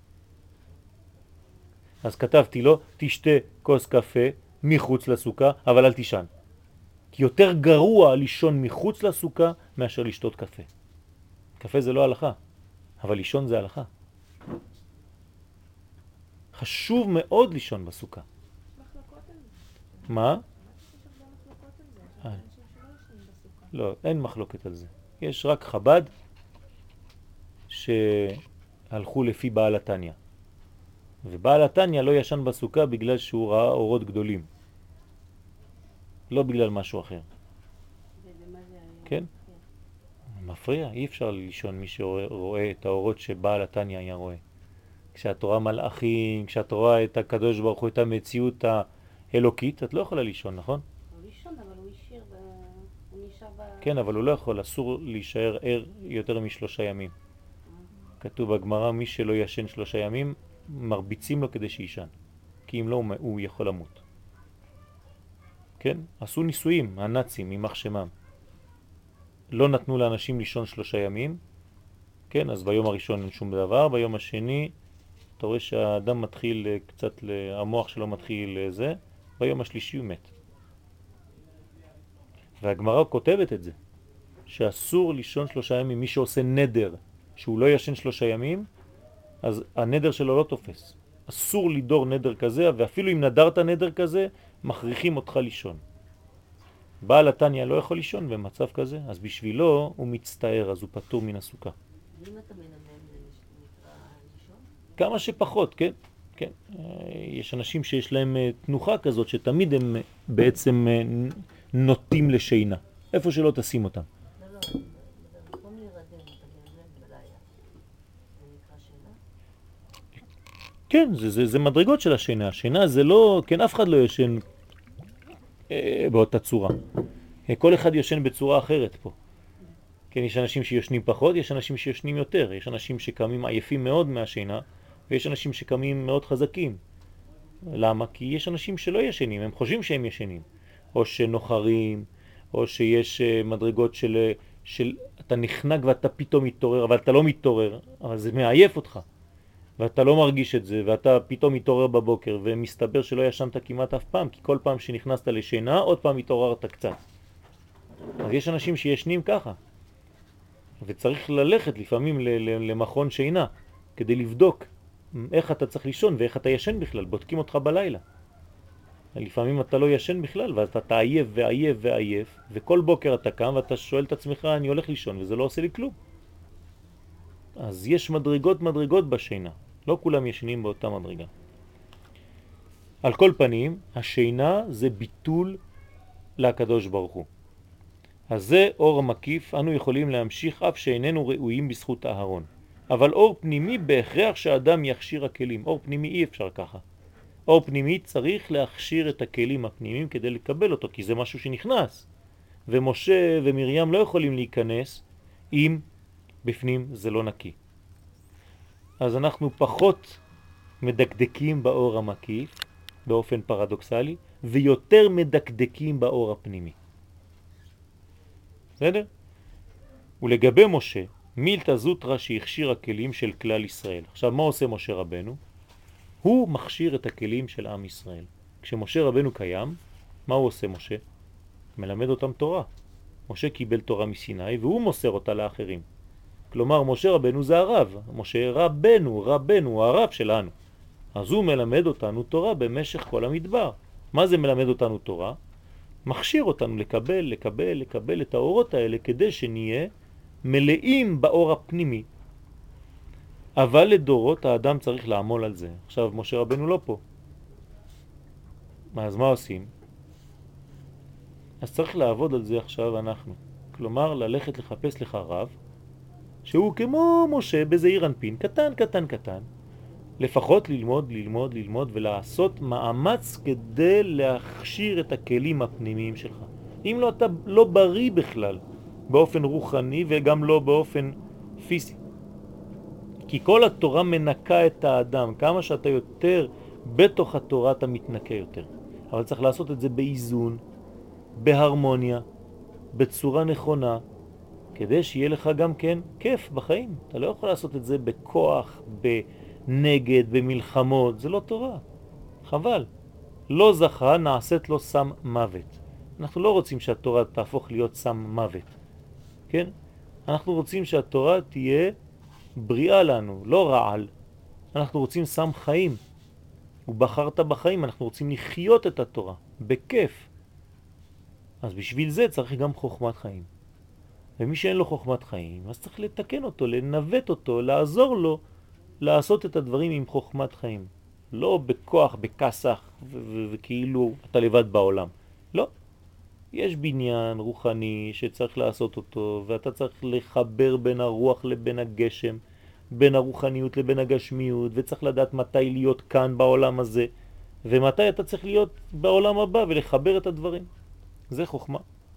S1: אז כתבתי לו, תשתה כוס קפה מחוץ לסוכה, אבל אל תישן. כי יותר גרוע לישון מחוץ לסוכה מאשר לשתות קפה. קפה זה לא הלכה, אבל לישון זה הלכה. חשוב מאוד לישון בסוכה. מה? לא, אין מחלוקת על זה. יש רק חב"ד שהלכו לפי בעל התניא. ובעל התניא לא ישן בסוכה בגלל שהוא ראה אורות גדולים. לא בגלל משהו אחר. כן? מפריע, אי אפשר לישון מי שרואה את האורות שבעל התניא היה רואה. כשאת רואה מלאכים, כשאת רואה את הקדוש ברוך הוא, את המציאות האלוקית, את לא יכולה לישון, נכון?
S2: הוא לישון, אבל הוא השאיר, הוא נשאר ב...
S1: כן, אבל הוא לא יכול, אסור להישאר ער יותר משלושה ימים. כתוב בגמרא, מי שלא ישן שלושה ימים, מרביצים לו כדי שישן. כי אם לא, הוא יכול למות. כן? עשו ניסויים, הנאצים, ממח שמם. לא נתנו לאנשים לישון שלושה ימים. כן, אז ביום הראשון אין שום דבר, ביום השני אתה רואה שהאדם מתחיל קצת, המוח שלו מתחיל לזה, ביום השלישי הוא מת. והגמרא כותבת את זה, שאסור לישון שלושה ימים. מי שעושה נדר שהוא לא ישן שלושה ימים, אז הנדר שלו לא תופס. אסור לידור נדר כזה, ואפילו אם נדרת נדר כזה, מכריחים אותך לישון. בעל התניא לא יכול לישון במצב כזה, אז בשבילו הוא מצטער, אז הוא פטור מן הסוכה.
S2: ואם אתה מנמם זה נקרא לישון?
S1: כמה שפחות, כן? כן. יש אנשים שיש להם תנוחה כזאת, שתמיד הם בעצם נוטים לשינה. איפה שלא תשים אותם.
S2: לא, לא, במקום להירדם, אתה מנמם בלילה. זה נקרא שינה?
S1: כן, זה, זה, זה מדרגות של השינה. השינה זה לא, כן, אף אחד לא ישן אה, באותה צורה. כל אחד ישן בצורה אחרת פה. כן, יש אנשים שישנים פחות, יש אנשים שישנים יותר. יש אנשים שקמים עייפים מאוד מהשינה, ויש אנשים שקמים מאוד חזקים. למה? כי יש אנשים שלא ישנים, הם חושבים שהם ישנים. או שנוחרים, או שיש מדרגות של, של אתה נחנק ואתה פתאום מתעורר, אבל אתה לא מתעורר, אבל זה מעייף אותך. ואתה לא מרגיש את זה, ואתה פתאום מתעורר בבוקר, ומסתבר שלא ישנת כמעט אף פעם, כי כל פעם שנכנסת לשינה, עוד פעם מתעוררת קצת. אז יש אנשים שישנים ככה. וצריך ללכת לפעמים למכון שינה, כדי לבדוק איך אתה צריך לישון ואיך אתה ישן בכלל. בודקים אותך בלילה. לפעמים אתה לא ישן בכלל, ואז אתה עייף ועייף ועייף, וכל בוקר אתה קם ואתה שואל את עצמך, אני הולך לישון, וזה לא עושה לי כלום. אז יש מדרגות מדרגות בשינה. לא כולם ישנים באותה מדרגה. על כל פנים, השינה זה ביטול לקדוש ברוך הוא. אז זה אור מקיף, אנו יכולים להמשיך אף שאיננו ראויים בזכות הארון. אבל אור פנימי בהכרח שאדם יכשיר הכלים. אור פנימי אי אפשר ככה. אור פנימי צריך להכשיר את הכלים הפנימיים כדי לקבל אותו, כי זה משהו שנכנס. ומשה ומרים לא יכולים להיכנס אם בפנים זה לא נקי. אז אנחנו פחות מדקדקים באור המקיף, באופן פרדוקסלי, ויותר מדקדקים באור הפנימי. בסדר? ולגבי משה, מילתא זוטרא שהכשיר הכלים של כלל ישראל. עכשיו, מה עושה משה רבנו? הוא מכשיר את הכלים של עם ישראל. כשמשה רבנו קיים, מה הוא עושה משה? מלמד אותם תורה. משה קיבל תורה מסיני והוא מוסר אותה לאחרים. כלומר, משה רבנו זה הרב. משה רבנו, רבנו, הרב שלנו. אז הוא מלמד אותנו תורה במשך כל המדבר. מה זה מלמד אותנו תורה? מכשיר אותנו לקבל, לקבל, לקבל את האורות האלה כדי שנהיה מלאים באור הפנימי. אבל לדורות האדם צריך לעמול על זה. עכשיו משה רבנו לא פה. אז מה עושים? אז צריך לעבוד על זה עכשיו אנחנו. כלומר, ללכת לחפש לך רב, שהוא כמו משה בזעיר אנפין, קטן, קטן, קטן. לפחות ללמוד, ללמוד, ללמוד ולעשות מאמץ כדי להכשיר את הכלים הפנימיים שלך. אם לא, אתה לא בריא בכלל, באופן רוחני וגם לא באופן פיזי. כי כל התורה מנקה את האדם. כמה שאתה יותר בתוך התורה אתה מתנקה יותר. אבל צריך לעשות את זה באיזון, בהרמוניה, בצורה נכונה, כדי שיהיה לך גם כן כיף בחיים. אתה לא יכול לעשות את זה בכוח, בנגד, במלחמות. זה לא תורה. חבל. לא זכה, נעשית לו סם מוות. אנחנו לא רוצים שהתורה תהפוך להיות סם מוות. כן? אנחנו רוצים שהתורה תהיה בריאה לנו, לא רעל. אנחנו רוצים סם חיים. ובחרת בחיים, אנחנו רוצים לחיות את התורה, בכיף. אז בשביל זה צריך גם חוכמת חיים. ומי שאין לו חוכמת חיים, אז צריך לתקן אותו, לנווט אותו, לעזור לו לעשות את הדברים עם חוכמת חיים. לא בכוח, בכסח, וכאילו אתה לבד בעולם. לא. יש בניין רוחני שצריך לעשות אותו, ואתה צריך לחבר בין הרוח לבין הגשם, בין הרוחניות לבין הגשמיות, וצריך לדעת מתי להיות כאן בעולם הזה, ומתי אתה צריך להיות בעולם הבא ולחבר את הדברים. זה חוכמה.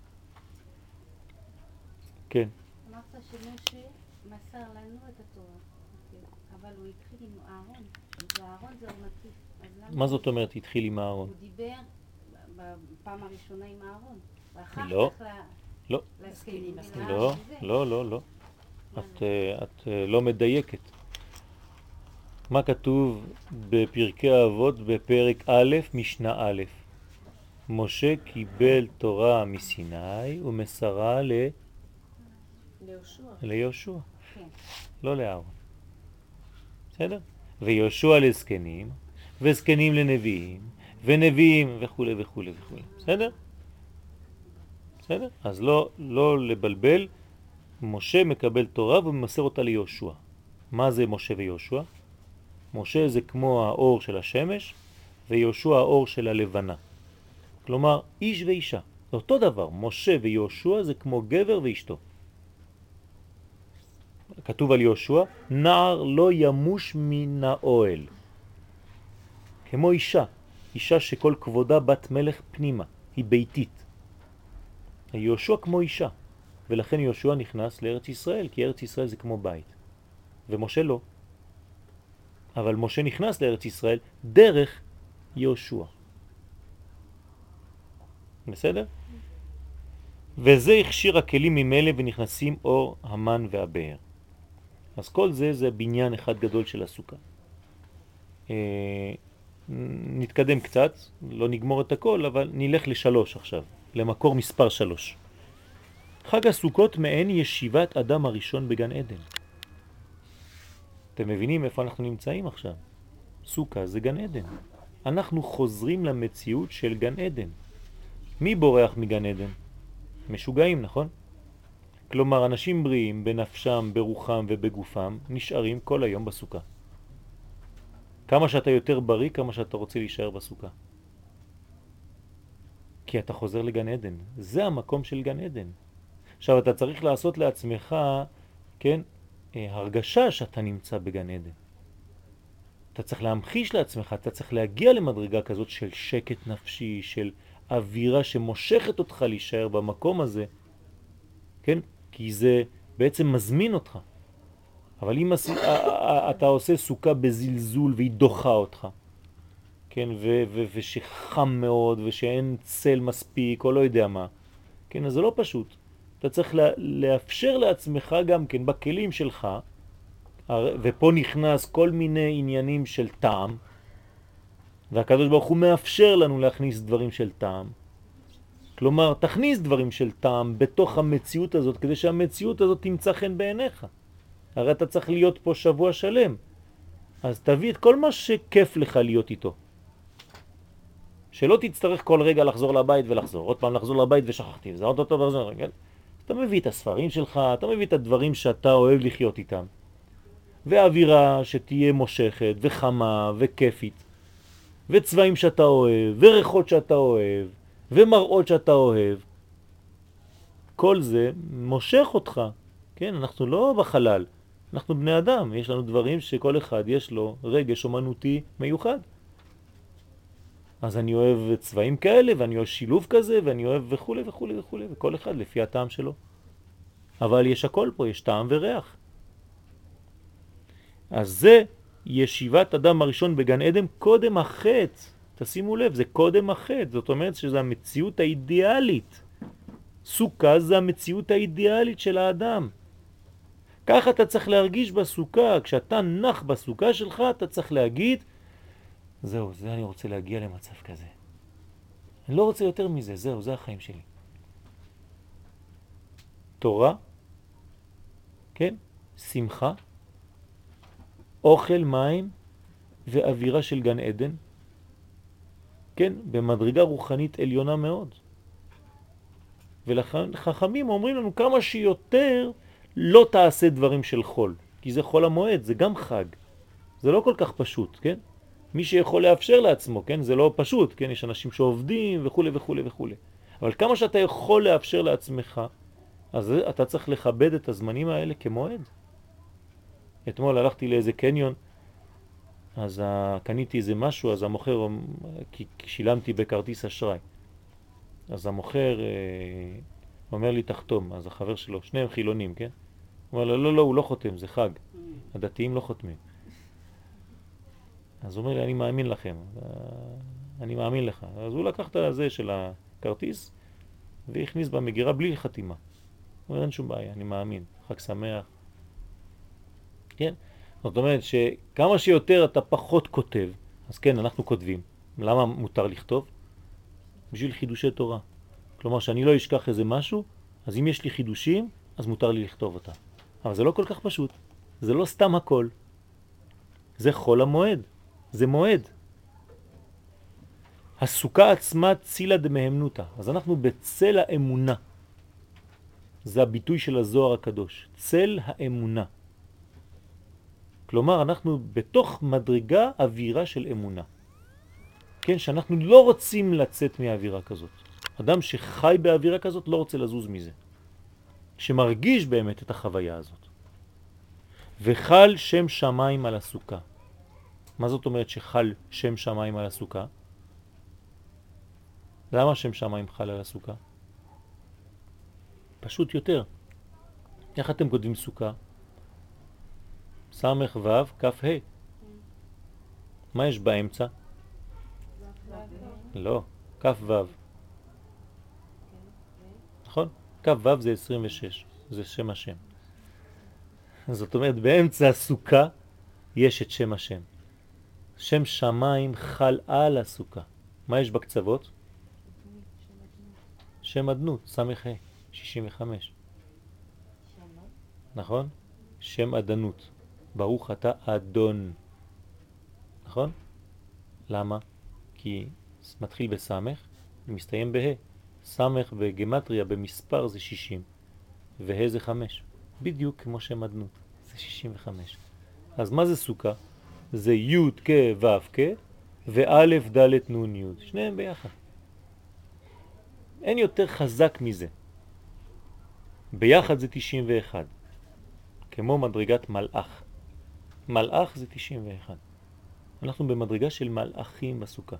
S1: כן.
S4: אמרת שמשה מסר לנו את התורה, אבל הוא התחיל עם אהרון, ואהרון זה עורנתי.
S1: מה זאת אומרת התחיל עם אהרון?
S4: הוא דיבר בפעם הראשונה עם אהרון, ואחר
S1: לא,
S4: כך
S1: לא,
S4: לזקנים.
S1: לא, לא, לא, לא. את, את לא מדייקת. מה כתוב בפרקי אבות בפרק א' משנה א'? משה קיבל תורה מסיני ומסרה ל...
S2: ליהושע.
S1: ליהושע.
S4: כן.
S1: לא לאהרון. בסדר? ויהושע לזקנים, וזקנים לנביאים, ונביאים וכו' וכו' וכו'. בסדר? בסדר? אז לא, לא לבלבל. משה מקבל תורה וממסר אותה ליהושע. מה זה משה ויהושע? משה זה כמו האור של השמש, ויהושע האור של הלבנה. כלומר, איש ואישה. זה אותו דבר. משה ויהושע זה כמו גבר ואשתו. כתוב על יהושע, נער לא ימוש מן האוהל. כמו אישה. אישה שכל כבודה בת מלך פנימה. היא ביתית. יהושע כמו אישה. ולכן יהושע נכנס לארץ ישראל, כי ארץ ישראל זה כמו בית. ומשה לא. אבל משה נכנס לארץ ישראל דרך יהושע. בסדר? וזה הכשיר הכלים ממילא ונכנסים אור המן והבאר. אז כל זה זה בניין אחד גדול של הסוכה. אה, נתקדם קצת, לא נגמור את הכל, אבל נלך לשלוש עכשיו, למקור מספר שלוש. חג הסוכות מעין ישיבת אדם הראשון בגן עדן. אתם מבינים איפה אנחנו נמצאים עכשיו? סוכה זה גן עדן. אנחנו חוזרים למציאות של גן עדן. מי בורח מגן עדן? משוגעים, נכון? כלומר, אנשים בריאים בנפשם, ברוחם ובגופם נשארים כל היום בסוכה. כמה שאתה יותר בריא, כמה שאתה רוצה להישאר בסוכה. כי אתה חוזר לגן עדן. זה המקום של גן עדן. עכשיו אתה צריך לעשות לעצמך, כן, הרגשה שאתה נמצא בגן עדן. אתה צריך להמחיש לעצמך, אתה צריך להגיע למדרגה כזאת של שקט נפשי, של אווירה שמושכת אותך להישאר במקום הזה, כן? כי זה בעצם מזמין אותך. אבל אם אתה עושה סוכה בזלזול והיא דוחה אותך, כן? ו- ו- ושחם מאוד ושאין צל מספיק או לא יודע מה, כן? אז זה לא פשוט. אתה צריך לאפשר לעצמך גם כן בכלים שלך, ופה נכנס כל מיני עניינים של טעם, והקדוש ברוך הוא מאפשר לנו להכניס דברים של טעם. כלומר, תכניס דברים של טעם בתוך המציאות הזאת, כדי שהמציאות הזאת תמצא חן בעיניך. הרי אתה צריך להיות פה שבוע שלם. אז תביא את כל מה שכיף לך להיות איתו. שלא תצטרך כל רגע לחזור לבית ולחזור, עוד פעם לחזור לבית ושכחתי, זה עוד אותו לחזור, כן? אתה מביא את הספרים שלך, אתה מביא את הדברים שאתה אוהב לחיות איתם. ואווירה שתהיה מושכת וחמה וכיפית. וצבעים שאתה אוהב, וריחות שאתה אוהב, ומראות שאתה אוהב. כל זה מושך אותך, כן? אנחנו לא בחלל, אנחנו בני אדם, יש לנו דברים שכל אחד יש לו רגש אומנותי מיוחד. אז אני אוהב צבעים כאלה, ואני אוהב שילוב כזה, ואני אוהב וכו' וכו' וכו', וכל אחד לפי הטעם שלו. אבל יש הכל פה, יש טעם וריח. אז זה ישיבת אדם הראשון בגן עדן קודם החטא. תשימו לב, זה קודם החטא. זאת אומרת שזו המציאות האידיאלית. סוכה זה המציאות האידיאלית של האדם. ככה אתה צריך להרגיש בסוכה. כשאתה נח בסוכה שלך, אתה צריך להגיד, זהו, זה אני רוצה להגיע למצב כזה. אני לא רוצה יותר מזה, זהו, זה החיים שלי. תורה, כן, שמחה, אוכל, מים ואווירה של גן עדן, כן, במדרגה רוחנית עליונה מאוד. ולכן חכמים אומרים לנו כמה שיותר לא תעשה דברים של חול, כי זה חול המועד, זה גם חג. זה לא כל כך פשוט, כן? מי שיכול לאפשר לעצמו, כן? זה לא פשוט, כן? יש אנשים שעובדים וכו' וכו' וכו'. אבל כמה שאתה יכול לאפשר לעצמך, אז אתה צריך לכבד את הזמנים האלה כמועד. אתמול הלכתי לאיזה קניון, אז קניתי איזה משהו, אז המוכר, כי שילמתי בכרטיס אשראי. אז המוכר אומר לי תחתום, אז החבר שלו, שניהם חילונים, כן? הוא אומר לו, לא, לא, הוא לא חותם, זה חג. הדתיים לא חותמים. אז הוא אומר לי, אני מאמין לכם, אני מאמין לך. אז הוא לקח את הזה של הכרטיס והכניס במגירה בלי חתימה. הוא אומר, אין שום בעיה, אני מאמין, חג שמח. כן? זאת אומרת שכמה שיותר אתה פחות כותב, אז כן, אנחנו כותבים. למה מותר לכתוב? בשביל חידושי תורה. כלומר, שאני לא אשכח איזה משהו, אז אם יש לי חידושים, אז מותר לי לכתוב אותה. אבל זה לא כל כך פשוט. זה לא סתם הכל. זה חול המועד. זה מועד. הסוכה עצמה צילה דמהמנותה. אז אנחנו בצל האמונה. זה הביטוי של הזוהר הקדוש. צל האמונה. כלומר, אנחנו בתוך מדרגה אווירה של אמונה. כן, שאנחנו לא רוצים לצאת מהאווירה כזאת. אדם שחי באווירה כזאת לא רוצה לזוז מזה. שמרגיש באמת את החוויה הזאת. וחל שם שמיים על הסוכה. מה זאת אומרת שחל שם שמיים על הסוכה? למה שם שמיים חל על הסוכה? פשוט יותר. איך אתם כותבים סוכה? סמך וו, כף ה'. מה יש באמצע? לא, כף וו. נכון? כף וו זה עשרים ושש, זה שם השם. זאת אומרת, באמצע הסוכה יש את שם השם. שם שמיים חל על הסוכה. מה יש בקצוות? שם אדנות, סמך ה', שישים וחמש. נכון? שם אדנות. ברוך אתה אדון. נכון? למה? כי מתחיל בסמך ומסתיים בה'. סמך בגמטריה במספר זה שישים וה' זה חמש. בדיוק כמו שם אדנות. זה שישים וחמש. אז מה זה סוכה? זה י' כ' ו' כ' וא' ד' נ' י'. שניהם ביחד. אין יותר חזק מזה. ביחד זה תשעים ואחת. כמו מדרגת מלאך. מלאך זה תשעים ואחת. אנחנו במדרגה של מלאכים בסוכה.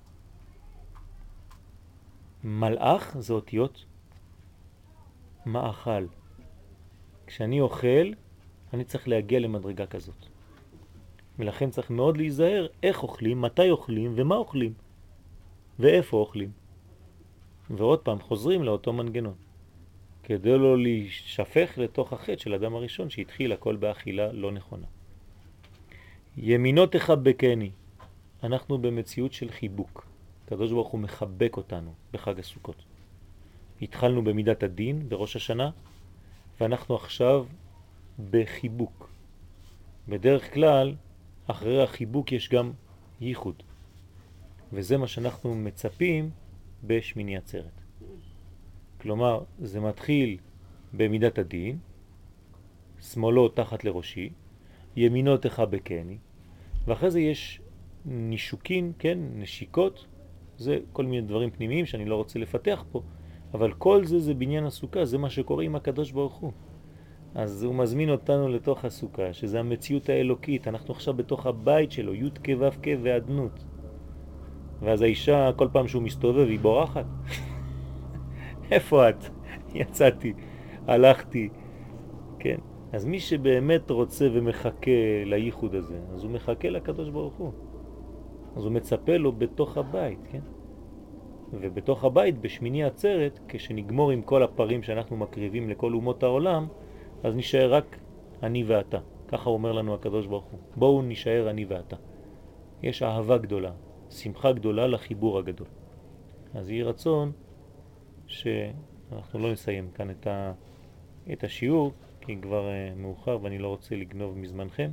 S1: מלאך זה אותיות מאכל. כשאני אוכל, אני צריך להגיע למדרגה כזאת. ולכן צריך מאוד להיזהר איך אוכלים, מתי אוכלים ומה אוכלים. ואיפה אוכלים. ועוד פעם חוזרים לאותו מנגנון. כדי לא להישפך לתוך החטא של אדם הראשון שהתחיל הכל באכילה לא נכונה. ימינו תחבקני. אנחנו במציאות של חיבוק. הקדוש ברוך הוא מחבק אותנו בחג הסוכות. התחלנו במידת הדין בראש השנה, ואנחנו עכשיו בחיבוק. בדרך כלל אחרי החיבוק יש גם ייחוד. וזה מה שאנחנו מצפים בשמיני עצרת. כלומר, זה מתחיל במידת הדין, שמאלו תחת לראשי, ימינו תחבקני, ואחרי זה יש נישוקין, כן, נשיקות, זה כל מיני דברים פנימיים שאני לא רוצה לפתח פה, אבל כל זה זה בניין הסוכה, זה מה שקורה עם הקדוש ברוך הוא. אז הוא מזמין אותנו לתוך הסוכה, שזה המציאות האלוקית, אנחנו עכשיו בתוך הבית שלו, י' כ' ו' כ' ועדנות. ואז האישה, כל פעם שהוא מסתובב, היא בורחת. איפה את? יצאתי, הלכתי, כן. אז מי שבאמת רוצה ומחכה לייחוד הזה, אז הוא מחכה לקדוש ברוך הוא. אז הוא מצפה לו בתוך הבית, כן? ובתוך הבית, בשמיני עצרת, כשנגמור עם כל הפרים שאנחנו מקריבים לכל אומות העולם, אז נשאר רק אני ואתה. ככה אומר לנו הקדוש ברוך הוא. בואו נשאר אני ואתה. יש אהבה גדולה, שמחה גדולה לחיבור הגדול. אז יהיה רצון שאנחנו לא נסיים כאן את, ה... את השיעור, כי כבר uh, מאוחר ואני לא רוצה לגנוב מזמנכם.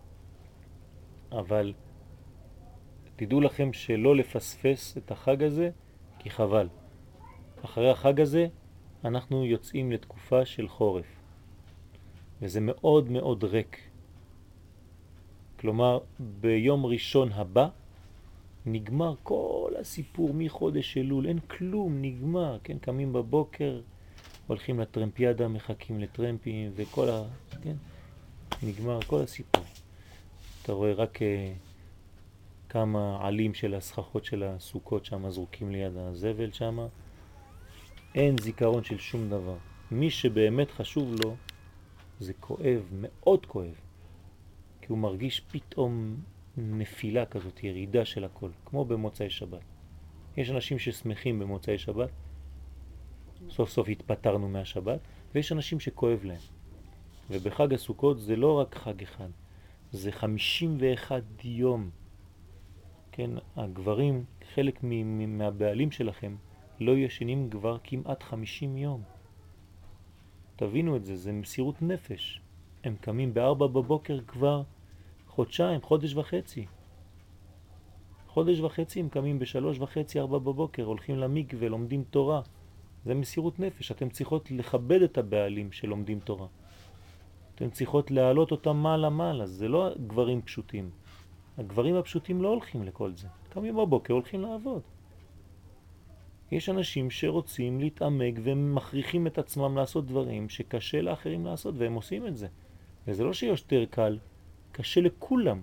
S1: אבל תדעו לכם שלא לפספס את החג הזה, כי חבל. אחרי החג הזה אנחנו יוצאים לתקופה של חורף. וזה מאוד מאוד ריק. כלומר, ביום ראשון הבא נגמר כל הסיפור מחודש אלול, אין כלום, נגמר, כן? קמים בבוקר, הולכים לטרמפיאדה, מחכים לטרמפים וכל ה... כן? נגמר כל הסיפור. אתה רואה רק uh, כמה עלים של הסככות של הסוכות שם זרוקים ליד הזבל שם. אין זיכרון של שום דבר. מי שבאמת חשוב לו, זה כואב, מאוד כואב. כי הוא מרגיש פתאום נפילה כזאת, ירידה של הכל, כמו במוצאי שבת. יש אנשים ששמחים במוצאי שבת, סוף סוף התפטרנו מהשבת, ויש אנשים שכואב להם. ובחג הסוכות זה לא רק חג אחד, זה חמישים ואחד יום. כן, הגברים, חלק מהבעלים שלכם, לא ישנים כבר כמעט חמישים יום. תבינו את זה, זה מסירות נפש. הם קמים בארבע בבוקר כבר חודשיים, חודש וחצי. חודש וחצי הם קמים בשלוש וחצי, ארבע בבוקר, הולכים למקווה, לומדים תורה. זה מסירות נפש. אתם צריכות לכבד את הבעלים שלומדים תורה. אתם צריכות להעלות אותם מעלה מעלה. זה לא גברים פשוטים. הגברים הפשוטים לא הולכים לכל זה. קמים בבוקר, הולכים לעבוד. יש אנשים שרוצים להתעמק ומכריחים את עצמם לעשות דברים שקשה לאחרים לעשות, והם עושים את זה. וזה לא שיותר קל, קשה לכולם.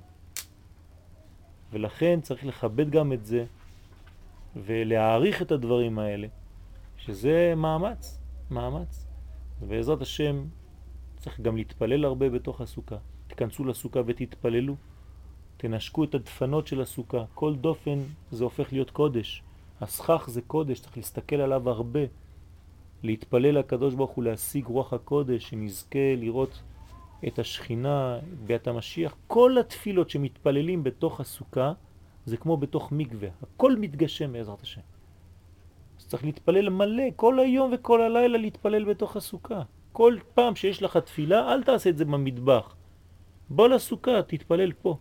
S1: ולכן צריך לכבד גם את זה, ולהעריך את הדברים האלה, שזה מאמץ, מאמץ. ובעזרת השם צריך גם להתפלל הרבה בתוך הסוכה. תכנסו לסוכה ותתפללו, תנשקו את הדפנות של הסוכה. כל דופן זה הופך להיות קודש. הסכך זה קודש, צריך להסתכל עליו הרבה, להתפלל לקדוש ברוך הוא, להשיג רוח הקודש, שנזכה לראות את השכינה, בית המשיח. כל התפילות שמתפללים בתוך הסוכה, זה כמו בתוך מקווה, הכל מתגשם בעזרת השם. אז צריך להתפלל מלא, כל היום וכל הלילה להתפלל בתוך הסוכה. כל פעם שיש לך תפילה, אל תעשה את זה במטבח. בוא לסוכה, תתפלל פה.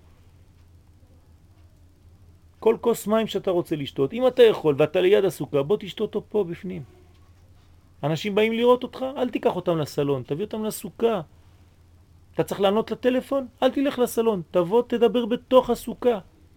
S1: כל כוס מים שאתה רוצה לשתות, אם אתה יכול ואתה ליד הסוכה, בוא תשתות אותו פה בפנים. אנשים באים לראות אותך, אל תיקח אותם לסלון, תביא אותם לסוכה. אתה צריך לענות לטלפון, אל תלך לסלון, תבוא תדבר בתוך הסוכה.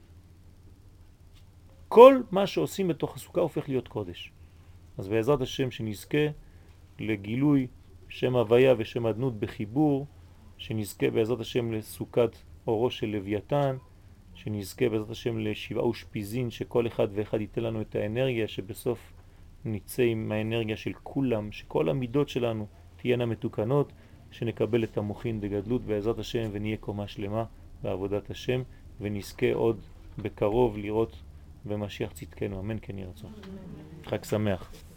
S1: כל מה שעושים בתוך הסוכה הופך להיות קודש. אז בעזרת השם שנזכה לגילוי שם הוויה ושם אדנות בחיבור, שנזכה בעזרת השם לסוכת אורו של לוויתן, שנזכה בעזרת השם לשבעה ושפיזין, שכל אחד ואחד ייתן לנו את האנרגיה, שבסוף נצא עם האנרגיה של כולם, שכל המידות שלנו תהיינה מתוקנות, שנקבל את המוחין בגדלות בעזרת השם ונהיה קומה שלמה בעבודת השם, ונזכה עוד בקרוב לראות במשיח צדקנו. אמן כן יהיה רצון. חג שמח.